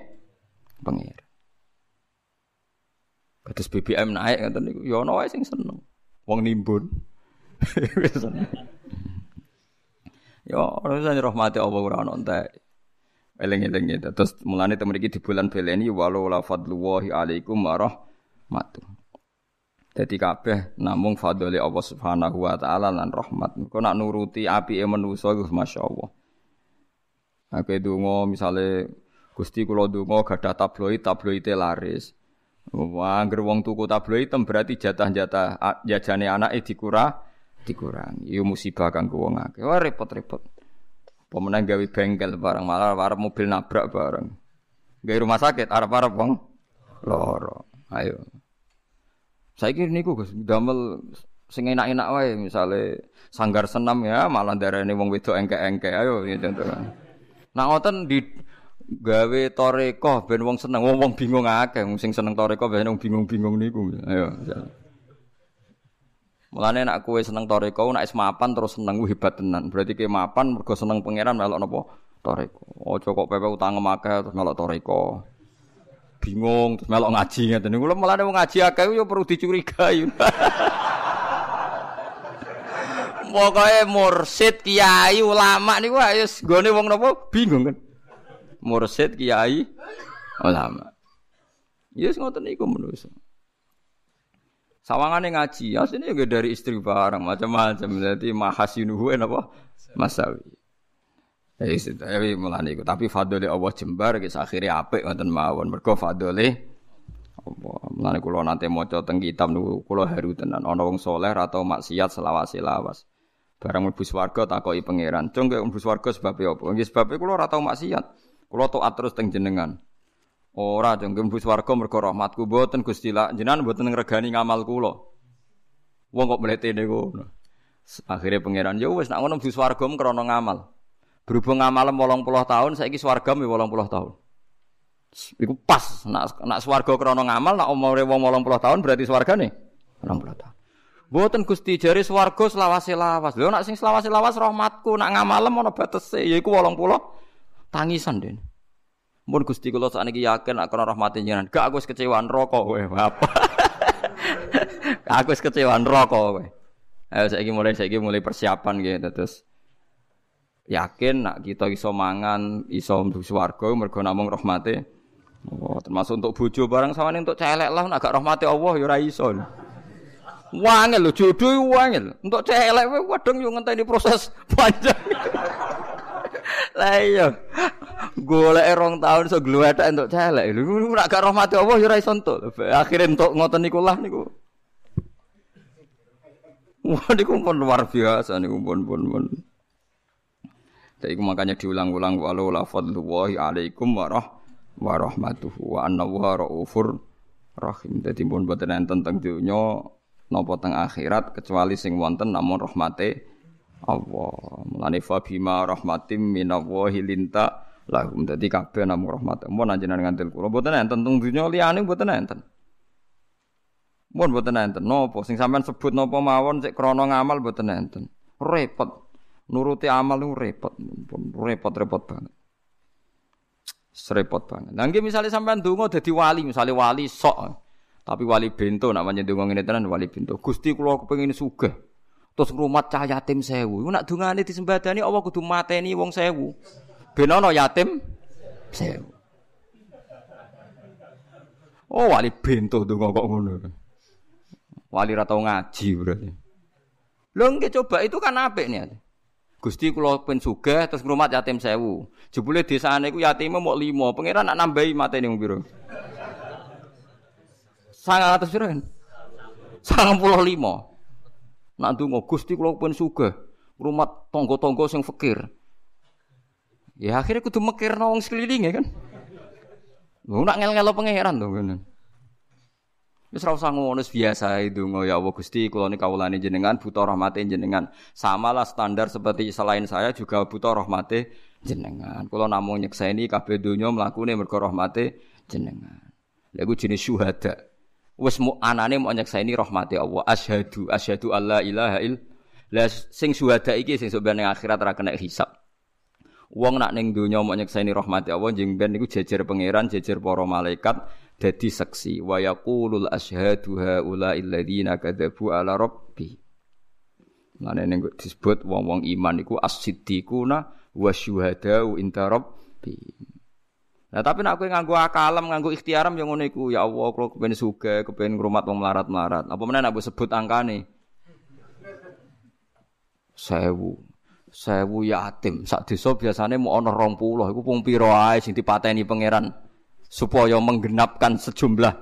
Kados BBM naik ngoten niku ya ana wae sing seneng. Wong nimbun. Wis seneng. Ya ora rahmate Allah ora ana entek. Eling-eling itu. Terus mulane temen iki di bulan beleni walau la fadlullahi alaikum warahmatuh. Dadi kabeh namung fadhole Allah Subhanahu wa taala lan rahmat. Engko nak nuruti apike manusa iku masyaallah. Aku donga misale Gusti kula donga gadah tabloid laris. Wah, anggere wong tuku tabloid tem berarti jatah-jatah jajane anake dikurangi. Iku musibah kanggo wong akeh. Wah repot-repot. Pemenang gawe bengkel barang malah arep mobil nabrak barang. Gawe rumah sakit arep-arep wong loro. Ayo. Saiki niku Gus damel sing enak-enak wae misale sanggar senam ya malah darane wong wedok engke-engke. Ayo gitu. Nah ngoten di gawe toreko ben wong seneng wong bingung akeh sing seneng toreko ben wong bingung-bingung niku. Ayo. Mulane nek kowe seneng toreko nek wis mapan terus seneng hebat tenan. Berarti kowe mapan mergo seneng pangeran melok napa toreko. Aja kok pepe utang akeh terus melok toreko. Bingung terus melok ngaji ngeten niku. Mulane wong ngaji akeh yo perlu dicurigai. Pokoke mursid, kiai, ulama niku wis gone wong napa bingung kan. Mursid, kiai, ulama. Yes ngoten niku menungso. Sawangane ngaji, asline nggih dari istri barang macam-macam. Dadi mahasinuhu napa masawi. Ya mulane iku, tapi fadhole Allah jembar wis akhire apik ngoten mawon. Mergo fadhole Allah. Mulane kula nate maca teng kitab niku kula haru tenan. Ana wong saleh ra tau maksiat selawase-lawas. Barang mlebu swarga takoki pangeran, "Cung kok mlebu swarga sebabe apa?" Nggih sebabe kula ora tau maksiat. Kula taat terus teng jenengan. Ora cung mlebu swarga mergo rahmatku mboten Gusti la jenengan mboten ngregani ngamal kula. Wong kok mletene ngono. Akhire pangeran, "Ya wis nek ngono mlebu swarga krana ngamal." Berhubung ngamalem 80 tahun, saiki swarga mi 80 tahun. Iku pas, nak swarga krana ngamal, nak umure wong 80 tahun berarti swargane 80 tahun. Mboten Gusti jare swarga selawase-lawas. Lho nak sing selawase-lawas rahmatku, nak ngamalem ana batese, yaiku 80 tangisan den. Mun Gusti kula sakniki yakin nak krana rahmate jenengan, gak aku wis kecewa neraka kowe, apa. Aku wis kecewa neraka kowe. Ayo saiki mulai persiapan gitu terus. Yakin nak kita iso mangan, iso mlebu swarga mergo namung rahmate. Oh, termasuk untuk bojo barang sawane untuk celek lah nak gak rahmate Allah ya ora iso. Wangel lho jodoh wangel. Untuk celek wadeng yo ngenteni proses panjang. Lah iya. Goleke 2 tahun iso glewethek untuk celek. Lho nak gak rahmate Allah ya ora iso entuk. Akhire entuk ngoten niku lah niku. Wah niku pun luar biasa niku pun. Iku makanya diulang-ulang walau la fadlullahi alaikum warahmatuhu wa annallaha raufur rahim. Dadi pun boten enten teng donya napa teng akhirat kecuali sing wonten namung rahmate Allah. Mulane fa bima rahmatim minallahi linta lahum. Dadi kabeh namung rahmat. Mun anjenengan ngantil kula boten enten teng donya liyane boten enten. Mun boten enten napa sing sampean sebut napa mawon sik krana ngamal boten enten. Repot. Nuruti amal itu repot banget. Serepot banget. Nah, misalnya sampean donga dadi wali, misalnya wali sok. Tapi wali bento nak pancen donga ngene tenan wali bento. Gusti kula kepengin sugih. Terus ngrumat cah yatim 1000. Iku nak dongane disembadani Allah kudu mateni wong 1000. Ben ana yatim 1000. Oh, wali bento donga kok ngono. Wali ra tau ngaji berarti. Lho nggih coba itu kan apik niat. Gusti kula pen sugih terus ngrumat yatim 1000. Jebule desane iku yatime mok 5. Pangeran nak nambahi matene wong pira? 900 pira kan? 95. Nak ndonga Gusti kula pen sugih, ngrumat tangga-tangga sing fakir. Ya akhirnya kudu mikirno wong sekelilinge kan. Lho nak ngel-ngelo pangeran to ngene. Wis ora usah ngono biasa ndonga ya Allah Gusti kula niki kawulane jenengan buta rahmate jenengan. Samalah standar seperti selain saya juga buta rahmate jenengan. Kula namung nyekseni kabeh donya mlakune mergo rahmate jenengan. Lha iku jenis syuhada. Wis anane mau nyekseni rahmate Allah. Asyhadu alla ilaha illallah. Sing syuhada iki sing sok ben akhirat ora kena hisab. Wong nak ning donya mau nyekseni rahmati Allah njing ben niku jejer pangeran, jejer para malaikat dadi saksi. Wa yaqulul asyhadu haula'il ladzina kadzabu ala rabbi. Lane ning disebut wong-wong iman iku as-siddiquna wasyuhada'u inda rabbi. Nah tapi nek kowe nganggo akalem, nganggo ikhtiaram ya ngono iku. Ya Allah, kula kepengin sugih, kepengin ngrumat wong melarat-melarat. Apa meneh nek sebut angkane? 1000 yatim. Sak desa biasane mau ana 20. Iku pung pira ae sing dipateni pangeran supaya menggenapkan sejumlah.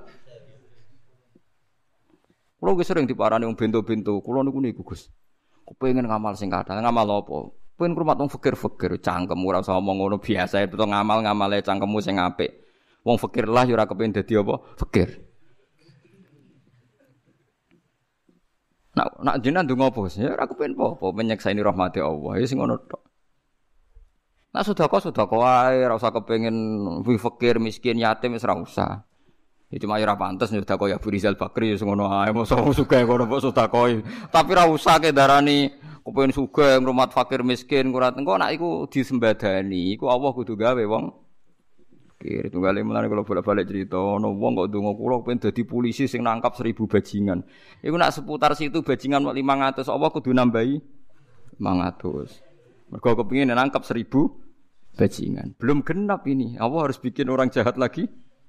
Kulo wis sering diparani wong bento-bento. Kulo niku Gus. Kepengin ngamal sing kathah. Ngamal apa? Pengen ngrumat wong fakir-fakir, cangkem ora usah omong ngono biasa itu ngamal-ngamale cangkemmu sing apik. Wong fakir lah ya ora kepengin dadi apa? Fakir. Nak jenengan ndonga apa? Ya ora kepen apa-apa menyekseni rahmate Allah. Ya sing ngono tok. Nak sedekah wae ora usah kepengin fakir, miskin, yatim wis ora usah. Ya cuma ora pantes sedekah ya Abu Rizal Bakri ya sing ngono ae. Mosok sugih ngono mbok sedekah. Tapi ora usah ke darani kepengin sugih ngrumat fakir miskin kurat. Engko nak iku disembadani, iku Allah kudu gawe wong kira tunggale mulane kula bolak-balik cerita ana wong kok ndonga kula pengen dadi polisi sing nangkap 1000 bajingan. Iku nak seputar situ bajingan 500 apa kudu nambahi 500. Mergo kepengin nangkap 1000 bajingan. Belum genap ini. Allah harus bikin orang jahat lagi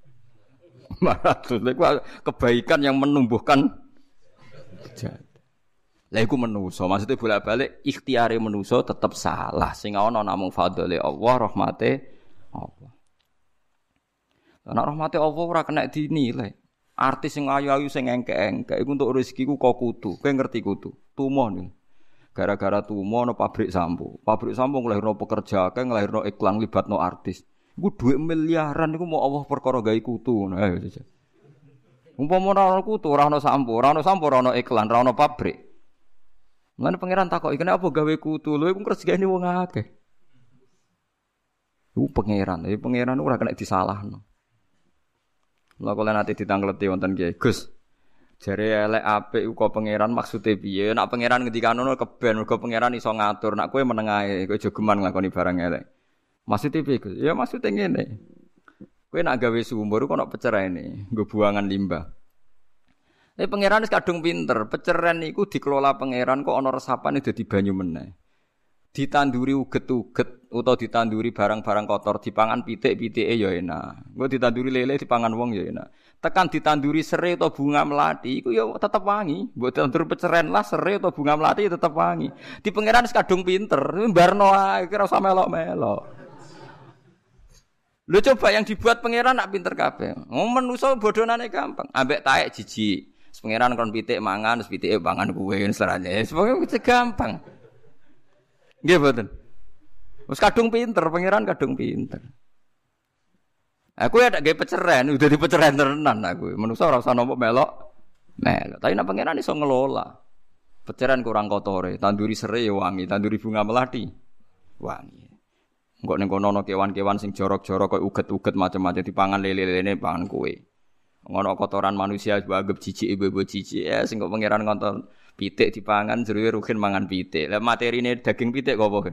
500. Iku kebaikan yang menumbuhkan jahat. Lah iku manusa, maksudnya bolak-balik ikhtiare manusa tetep salah. Sing ana namung fadhole Allah, rahmate Allah. Nek rahmate Allah ora kena dinilai. Artis sing ayu-ayu sing engke-engke iku untuk rezekiku kok kudu. Kowe ngerti kudu. Tumo niku. Gara-gara tumo ana pabrik sampo. Pabrik sampo nglahirno pekerja, nglahirno iklan libatno artis. Iku dhuwit miliaran iku mau Allah perkara gawe kutu. Ayo jajal. Umpama ora ana kutu, ora ana sampo, ora ana iklan, ora ana pabrik. Mulane pangeran takoki, "Kenapa gawe kutu? Lho iku rezekine wong akeh." Iku pangeran ora kena disalahno. Lha kok nanti ditangkleti wonten Kiai Gus. Jare elek apik kok pangeran maksude piye? Nek pangeran ngendikane ngono keben, mergo pangeran iso ngatur. Nek kowe meneng ae, kowe aja geman nglakoni barang elek. Maksude piye Gus? Ya maksude ngene. Kowe nek gawe sumur kok ana pecerene, nggo buangan limbah. Pangeran wis kadung pinter, peceren iku dikelola pangeran kok ana resapane dadi banyu meneh. Ditanduri uget-uget utawa ditanduri barang-barang kotor dipangan pitik-pitike ya enak. Engko ditanduri lele dipangan wong ya enak. Tekan ditanduri serai atau bunga melati iku ya tetep wangi. Mbok tandur peceren lah serai atau bunga melati ya tetep wangi. Di pangeran wis kadung pinter, mbarno ae ora usah melok-melok. Lho coba yang dibuat pangeran nak pinter kabeh. Menungso bodhonane gampang. Ambek taek jijik. Pangeran kon pitik mangan, terus pitike pangan kuwe serane. Pokoke gampang. Nggih mboten. Wis kadung pinter, pangeran kadung pinter. Aku ya tak gawe peceren, udah dipeceren tenan aku. Manusa ora usah nopo melok. Tapi nek pangeran iso ngelola. Peceren kurang kotore, tanduri serai ya wangi, tanduri bunga melati wangi. Engko ning kono ana kewan-kewan sing jorok-jorok koyo uget-uget macam-macam dipangan lele-lelene pangan kowe. Ngono kotoran manusia anggap jijik ibu-ibu jijik ya sing kok pangeran ngonton pitik dipangan jeruwe ruhin mangan pitik. Lah materine daging pitik kok apa kan.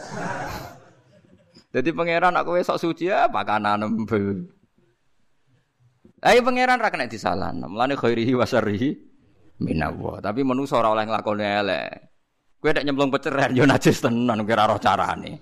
Dadi pangeran aku wis sok suci ya pakanan embel. Ayo pangeran ra kena disalahno. Mulane khairihi wa syarrihi minallah. Tapi manusa ora oleh nglakoni elek. Kowe nek nyemplung peceren yo najis tenan kira ora carane.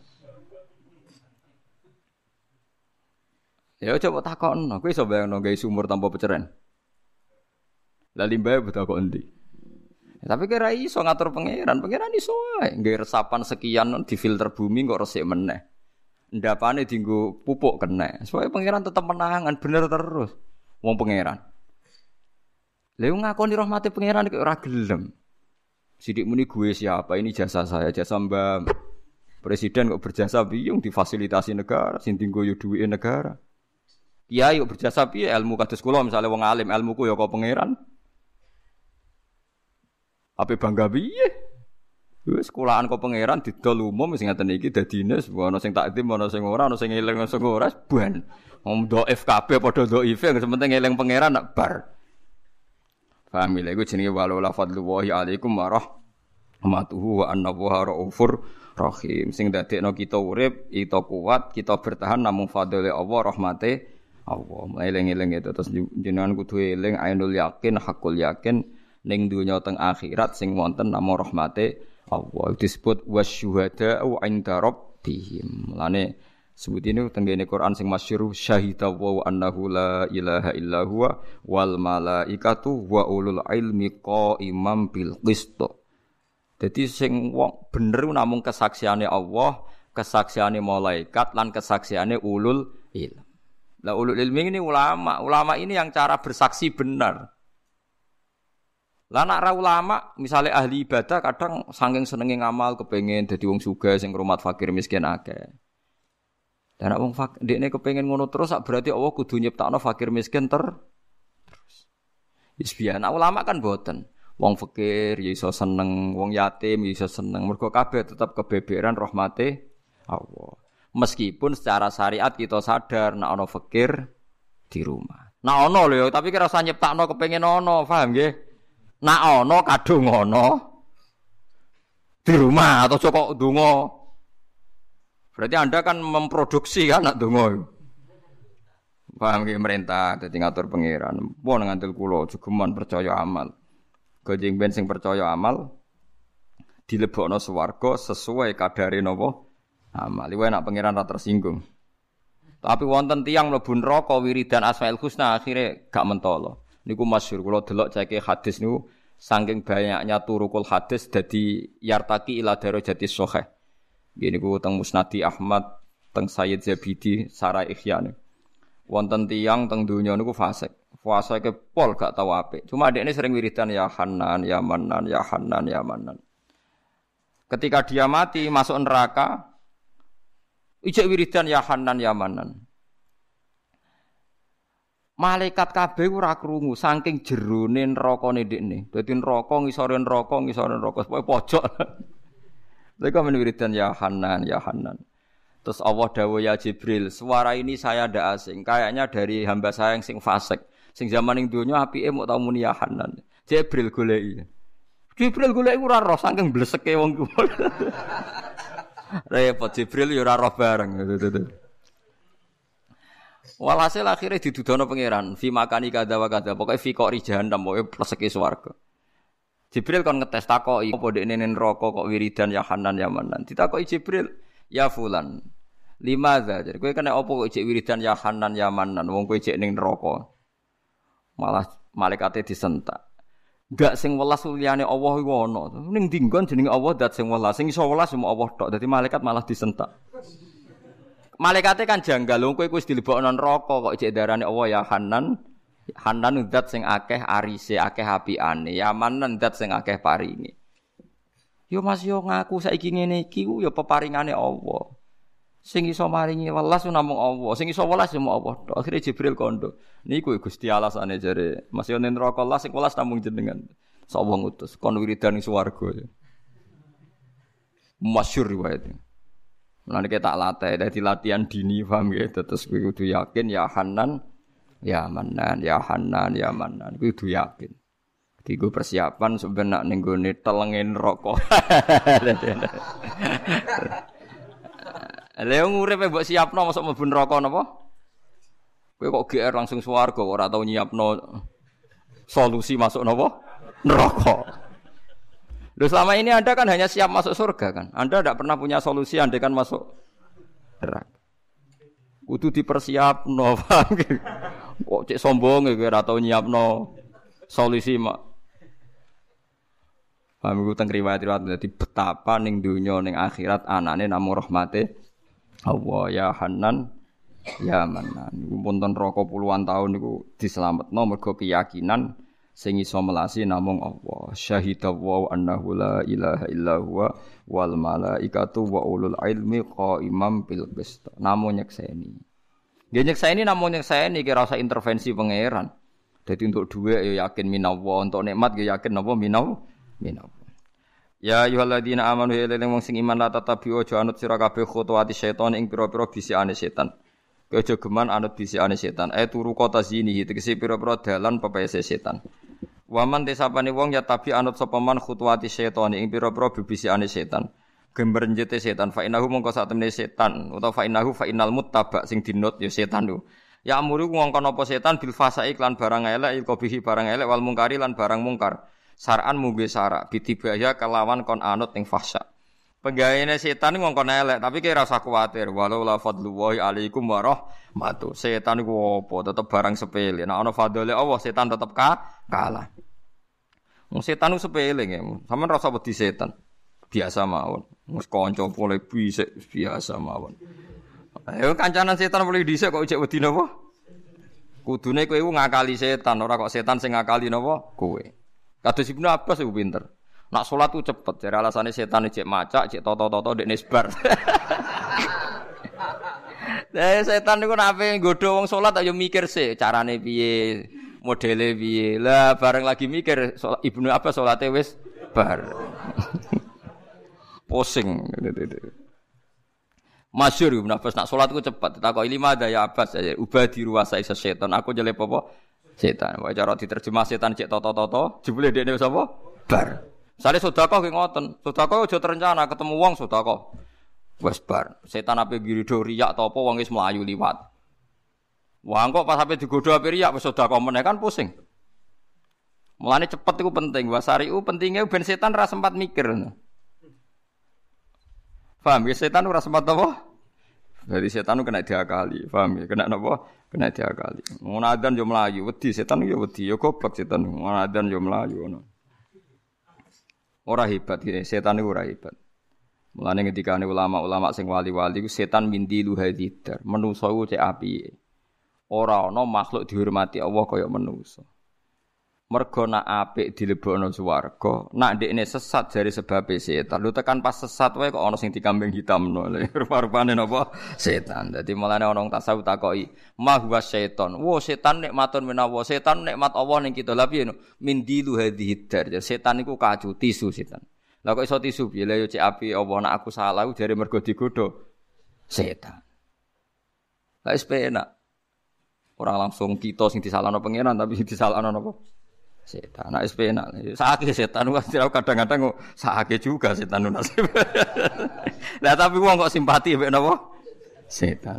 Ya coba takokno, kowe iso bayangno gawe sumur tanpa peceren. Lah limbahe butuh kok endi? Tapi kira iso ngatur pangeran iso ae. Nggae resapan sekian di filter bumi kok resik meneh. Ndapane dienggo pupuk kena. Soale pangeran tetep menangan bener terus. Wong pangeran. Lha ngakoni rahmate pangeran kok ora gelem. Sidik muni gue siapa? Ini jasa saya, jasa Mbak Presiden kok berjasa piye difasilitasi negara, sing dienggo yo duwike negara. Kiai kok berjasa piye ilmu kados kula misale wong alim, ilmuku ya kok pangeran. Ape bangga piye? Wis sekolahan kok pangeran didol umum sing ngaten iki dadine ana sing takdim ana sing ora ana sing eling ana sing ora ban. Wong dhaif kabeh padha dhaife sing penting eling pangeran nak bar. Paham lha iku jenenge wala fadlullahi alaikum wa rahmatuhu wa annallaha raufur rahim. Sing dadekno kita urip, kita kuat, kita bertahan namung fadhole Allah, rahmate Allah. Eling-eling itu terus jenengan kudu eling ainul yakin, hakul yakin ning donya teng akhirat sing wonten namung rahmate Allah. Disebut wasyuhada'u 'inda rabbihim. Mulane sebutine tenggene Quran sing masyhur syahida wa annahu la ilaha illa huwa wal malaikatu wa ulul ilmi qaimam bil qist. Dadi sing wong bener namung kesaksiane Allah, kesaksiane malaikat lan kesaksiane ulul ilm. Lah ulul ilmi ini ulama. Ulama ini yang cara bersaksi benar. Lah nek ra ulama, misale ahli ibadah kadang saking senenge ngamal kepengin dadi wong sugih sing ngrumat fakir miskin akeh. Dan nek wong ndekne kepengin ngono terus sak berarti Allah kudu nyiptakno fakir miskin terus. Wis biyen ulama kan boten. Wong fakir ya iso seneng, wong yatim ya iso seneng. Mergo kabeh tetep kebeberan rahmate Allah. Meskipun secara syariat kita sadar nek ana fakir di rumah. Nek ana lho tapi kira usah nyiptakno kepengin ana, paham nggih? Nek ana kadung ana di rumah atau kok ndonga. Berarti Anda kan memproduksi kan nak donga. Paham nggih merintah dadi ngatur pangeran. Pun ngandel kula jugeman percaya amal. Gojeng ben sing percaya amal dilebokno swarga sesuai kadare napa amal. Iku enak pangeran ra tersinggung. Tapi wonten tiyang mlebu neraka wiridan Asmaul Husna akhire gak mentolo. Niku masyhur kula delok ceke hadis niku saking banyaknya turukul hadis dadi yartaki ila darajatis shahih. Gini ku teng Musnadi Ahmad, teng Sayyid Zabidi, Sarah Ikhyan. Wonten tiyang teng donya niku fasik. Fasike pol gak tau apik. Cuma dekne sering wiridan ya Hanan, ya Manan, ya Hanan, ya Manan. Ketika dia mati masuk neraka, ijek wiridan ya Hanan, ya Manan. Malaikat kabeh ora krungu saking jerone nerakane dekne. Dadi neraka ngisore neraka, pokoke pojok. Mereka menwiridan ya Hanan, ya Hanan. Terus Allah dawuh ya Jibril, suara ini saya ndak asing. Kayaknya dari hamba saya yang sing fasik. Sing zaman ning donya apike mok tau muni ya Hanan. Jibril goleki. Jibril goleki ora roh saking bleseke wong ku. Repot Jibril ya ora roh bareng. Walhasil akhirnya didudono pangeran, fi makani kada wa kada. Pokoke fi qori jahannam, pokoke pleseke swarga. Jibril kon ngetes takoki apa dekne neraka kok wiridan ya Hanan ya Manan. Ditakoki Jibril, ya fulan. Limadza? Jadi kowe kena apa kok ijek wiridan ya Hanan ya Manan wong kowe ijek ning neraka. Malah malaikate disentak. Enggak sing welas liyane Allah iku ana. Ning dinggon jenenge Allah dat sing welas. Sing iso welas cuma Allah tok. Dadi malaikat malah disentak. Malaikate kan janggal wong kowe wis dilebokno neraka kok ijek darane Allah ya Hanan. Hanan zat sing akeh arise, akeh apiane. Yaman zat sing akeh paringe. Yo Mas yo ngaku saiki ngene iki yo peparingane Allah. Sing iso maringi welas namung Allah, sing iso welas yo Allah. Akhire Jibril kondo. Niku Gusti alasane jare. Mas yo ning neraka Allah sing welas namung jenengan. Sapa ngutus kon wiridan ning swarga. Masyhur riwayat. Mulane tak latih, dadi latihan dini paham nggih. Terus kowe kudu yakin ya Hanan ya Manan, ya Hanan, ya Manan. Kudu yakin. Digo persiapan sebenarnya ning gone telenge neraka. Lha nguripe mbok siapno mosok mlebu neraka napa? Kowe kok GR langsung swarga kok ora tau nyiapno solusi masuk napa? Neraka. Loh selama ini Anda kan hanya siap masuk surga kan? Anda tidak pernah punya solusi andai kan masuk neraka. Kudu dipersiapno, paham nggih? Kok cek sombong kowe ora tau nyiapno solusi mak. Paham iku teng riwayat-riwayat dadi betapa ning donya ning akhirat anane namung rahmate Allah ya Hanan ya Manan. Iku punten neraka puluhan tahun niku dislametno mergo keyakinan sing iso melasi namung Allah. Syahidallahu annahu la ilaha illa huwa wal malaikatu wa ulul ilmi qaimam bil qist. Namung nyekseni. Nggih nyekseni namung nyekseni ki ora usah intervensi pangeran. Dadi untuk dhuwit ya yakin minallah, untuk nikmat ya yakin napa minallah. Ya ayyuhalladzina amanu ya wong sing iman la tatabi'u aja anut sira kabeh khutuwati setan ing pira-pira bisikane setan. Aja geman anut bisikane setan. Turu kota zini tegese pira-pira dalan pepese setan. Waman desapane wong ya tabi anut sapa man khutuwati setan ing pira-pira bisikane setan. Gember njete setan fa innahu mongko sak temene setan utawa fa innahu fa innal muttaba sing dinut ya setan lho. Ya amuru ngongkon apa setan bil fasai lan barang elek ilqabihi barang elek wal mungkari lan barang mungkar. Saran mungge sarak bitibaya kelawan kon anut ing fahsya. Penggaweane setan ngongkon elek tapi kira usah kuwatir walau la fadlullahi alaikum warahmatuh. Setan iku apa tetep barang sepele. Nek ana fadhole Allah setan tetep kalah. Wong setan ku sepele nggih. Sampeyan rasa wedi setan. Biasa mawon. Wis kanca pole bisik biasa mawon. Ayo kancanan setan boleh dhisik kok ijek wedi napa? Kudune kowe iku ngakali setan ora kok setan sing ngakali napa? Kowe. Kados Ibnu Abbas iku pinter. Nak salat ku cepet, jare alasane setan cek macak, cek toto-toto ndek nisbar. Setan niku nek ape nggodho wong salat ayo mikir sih, carane piye, modele piye. Lah bareng lagi mikir Ibnu Abbas salate wis bar. Pusing. Masyhur Ibnu Abbas nak salat ku cepet, takoki lima ada ya Abbas, ubadi ruwasa isa setan. Aku jelek apa? Setan. Wae cara diterjemah setan cek toto-toto, jebule dekne wis apa? Bar. Sale sedekah ki ngoten. Sedekah aja terencana ketemu wong sedekah. Wis bar. Setan ape ngirido riyak ta apa wong wis mlayu liwat. Wah kok pas ape digodho ape riyak wis sedekah meneh kan pusing. Mulane cepet iku penting. Wasariu pentinge ben setan ora sempat mikir. Paham ya setan ora sempat apa? Dari setan kena diakali. Paham ya? Kena napa? Kena diakali. Ngono adzan yo mlayu, wedi setan yo wedi, yo goblok setan. Ngono adzan yo mlayu ngono. Ora hebat iki, setan iku ora hebat. Mulane ngendikane ulama-ulama sing wali-wali iku setan mindilu hadidar. Manusa iku cek apike. Ora ana makhluk dihormati Allah kaya manusa. Mergo nak apik dilebokno swarga, nak ndekne sesat jare sebab setan. Lu tekan pas sesat wae kok ana sing dikambing hitamno. Rupa-rupane napa? Setan. Dadi mulane ana wong tasawuf takoki, "Ma huwa setan?" Wo setan nikmatun menawa, setan nikmat Allah ning kita. Lah piye mindilu hadhihi dar. Setan iku kacu tisu setan. Lah kok iso tisu piye? Lah yo cek api Allah nak aku salah jare mergo digodho setan. Lah wis penak. Ora langsung kita sing disalahno pangeran tapi sing disalahno napa? Setan, nak SP nak. Sakake setan kadang-kadang sakake juga setan nasib. Lah tapi wong kok simpati mbek napa? Setan.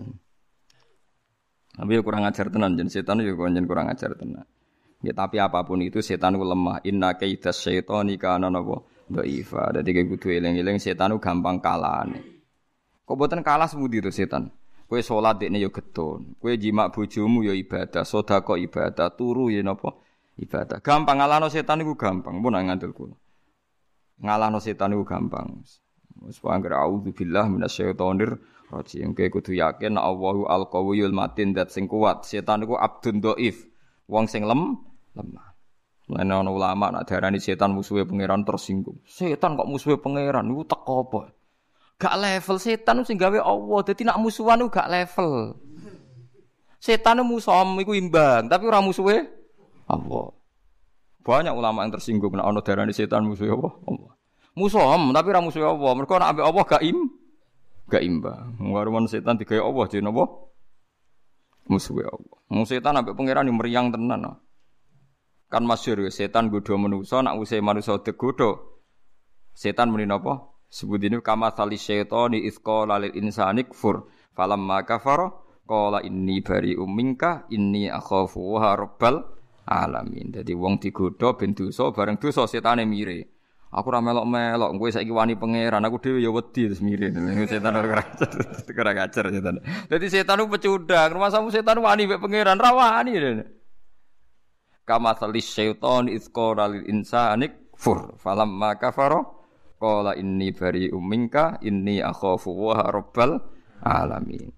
Tapi kurang ajar tenan jen setan yo kurang ajar tenan. Ya tapi apapun itu setan ku lemah. Inna kaidas syaitani kana napa? Dhaifa. Dadi kudu eling-eling setan ku gampang kalahane. Kok mboten kalah semudi to setan? Kowe salat dekne yo getun. Kowe jimak bojomu yo ibadah, sedekah ibadah, turu yo napa? Ibadah. Gampang ngalahno setan iku gampang. Mun ngandel kula. Ngalahno setan iku gampang. Wis panggere auzubillah minasyaitonir rajim. Kowe kudu yakin Allahu al-Qawiyul Matin dat sing kuat. Setan iku abdun dhaif. Wong sing lemah. Lan ana ulama nak darani setan musuhe pangeran tersinggung. Setan kok musuhe pangeran niku teko apa? Gak level setan sing gawe Allah. Dadi nak musuhan iku gak level. Setan musuh iku imbang, tapi ora musuhe Allah. Banyak ulama yang tersinggung nek ana darani setan musuh apa? Allah. Musuh tapi ora musuh Allah. Mergo nek ambek Allah gak imbang. Warman setan digawe Allah jenenge apa? Musuh Allah. Musuh setan ambek pangeran meriang tenan. Kan masyhur setan godho manusa nek usih manusa digodho. Setan muni napa? Sebutine kama sali syaitani isqala lil insani kfur. Falamma kafara qala inni bari'um minka inni akhafu wa rabbal alamin. Dadi wong digodha ben dosa bareng dosa setane mire. Aku ora melok-melok, kowe saiki wani pangeran, aku dhewe ya wedi terus mire. Setan ora ngajar setan. Dadi setan ku pecundang, rumasamu setan wani mek pangeran, ra wani. Kama salis syaitan izqara lil insani kufur. Falamma kafara qala inni bari'um minka inni akhafu wa rabbal alamin.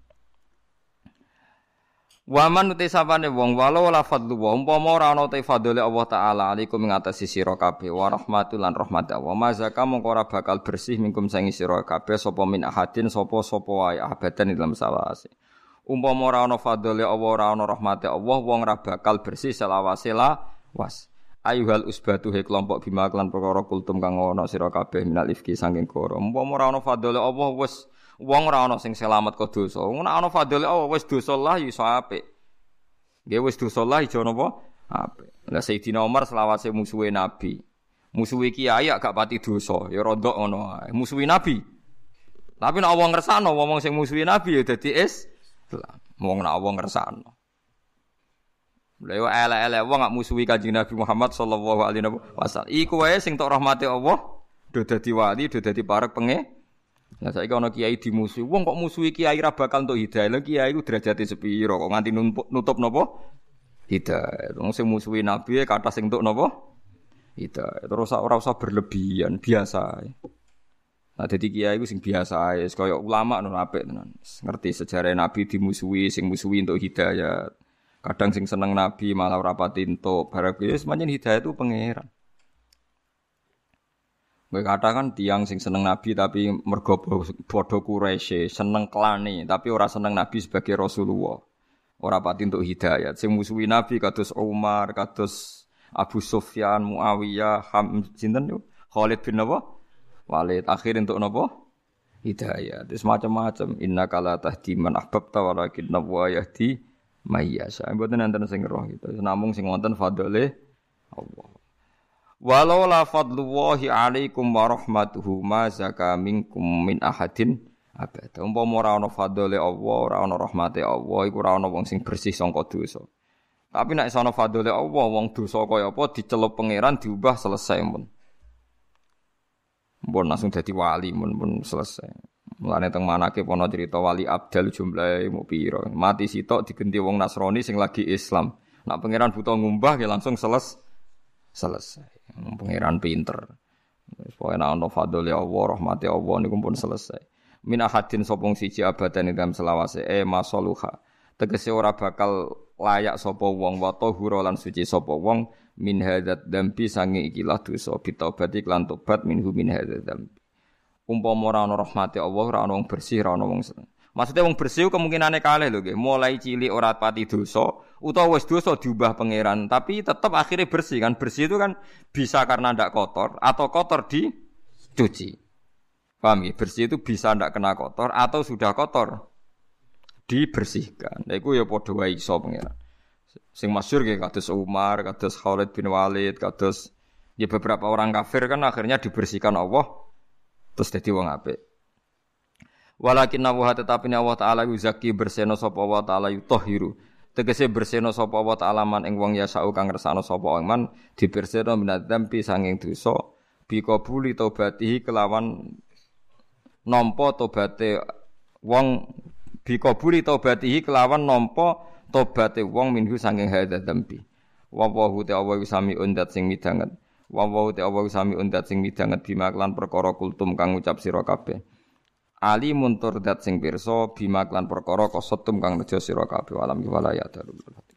Waman uti sapane wong walau la fadlu wa umpama ora ana te fadhole Allah taala alaikum ing atase sira kabeh wa rahmatul lan rahmat Allah mazaka mongko ora bakal bersih mingkum sangi sira kabeh sapa min ahadin sapa wae abadan dalam salawase. Umpama ora ana fadhole Allah ora ana rahmate Allah wong ora bakal bersih selawase was. Ayuhal usbatu he kelompok bima lan perkara kultum kang ana sira kabeh minal ifki saking koro. Umpama ora ana fadhole Allah wis wong ora ana sing selamat kok dosa. Wong ana fadhole Allah wis dosa lah iso apik. Nggih wis dosa lah iso napa? Apik. Lah Sayyidina Umar selawase musuhe Nabi. Musuhe kiai gak pati dosa, ya rondok ngono ae. Musuhi Nabi. Tapi nek wong ngersano wong sing musuhi Nabi ya dadi wong nek wong ngersano. Lha yo elek-elek wong gak musuhi Kanjeng Nabi Muhammad sallallahu alaihi wasallam. Iku wae sing tok rahmate Allah do dadi wali, do dadi parek Lah saiki ana kiai dimusuhi. Wong kok musuhi kiai ra bakal entuk hidayah. Lah kiai ku derajate sepiro kok nganti nutup napa? Hidayah. Wong sing musuhi nabi kathah sing entuk napa? Hidayah. Terus ora usah berlebihan, biasa ae. Nah dadi kiai ku sing biasa ae, kaya ulama ngono apik tenan. Ngerti sejarah nabi dimusuhi, sing musuhi entuk hidayah. Kadang sing seneng nabi malah ora pati entuk. Barang wis pancen hidayah itu pangeran. Kowe katakan tiang sing seneng Nabi tapi mergo padha Quraisy, seneng klane tapi ora seneng Nabi sebagai Rasulullah. Ora pati entuk hidayat. Sing musuhi Nabi kados Umar, kados Abu Sufyan, Muawiyah, sinten yo? Khalid bin Walid. Akhir entuk napa? Hidayat. Wis macam-macam. Innaka la tahdi man ahbabta walakin Allah yahdi may yasha. Mboten enten sing roh gitu. Namung sing wonten fadhole Allah. Walau la fadlullahi alaikum wa rahmatuhu ma zaka minkum min ahadin abada. Umpama ora ana fadhole Allah, ora ana rahmate Allah, iku ora ana wong sing bersih sangka dosa. Tapi nek ana fadhole Allah, wong dosa kaya apa dicelup pangeran diubah selesai mun. Mun langsung dadi wali mun selesai. Mulane teng manake ana cerita wali abdal jumlahe mu pira. Mati sitok digenti wong Nasrani sing lagi Islam. Nek pangeran buta ngumbah ya langsung selesai. Pangeran pinter. Supaya ana fadhole Allah, rahmate Allah niku pun selesai. Min ahadin sopong siji abadan ing dalam selawase masaluha. Tegese ora bakal layak sapa wong wa tahura lan suci sapa wong min hadzat dambi sange ikilah dosa bitobati lan tobat minhu min hadzat dambi. Umpama ora ana rahmate Allah, ora ana wong bersih, ora ana wong seneng. Maksudnya wong bersih kemungkinane kalih lho nggih. Mulai cilik ora pati dosa utawa wis dosa diubah pangeran, tapi tetap akhirnya bersih kan. Bersih itu kan bisa karena ndak kotor atau kotor dicuci. Paham ya? Bersih itu bisa ndak kena kotor atau sudah kotor dibersihkan. Lha iku ya padha wae iso pangeran. Sing masyhur nggih kados Umar, kados Khalid bin Walid, kados ya beberapa orang kafir kan akhirnya dibersihkan Allah terus dadi wong apik. Walakin Allah tetapi Allah Ta'ala yuzaki berseno sapa Allah Ta'ala yutahhiru. Tegese berseno sapa Allah Ta'ala man ing wong yasau kang ngersano sapa man diberseno minadzambi sanging dosa bi qabuli taubatihi kelawan nampa tobaté wong bi qabuli taubatihi kelawan nampa tobaté wong minhu sanging hadzambi. Wa wahu ta'ala sami undat sing midanget. Wa wahu ta'ala sami undat sing midanget bima lan perkara kultum kang ngucap sira kabeh. Ali muntur dat sing pirsa bima klan perkara kasetum kang nejo sira kabeh alam walaya darul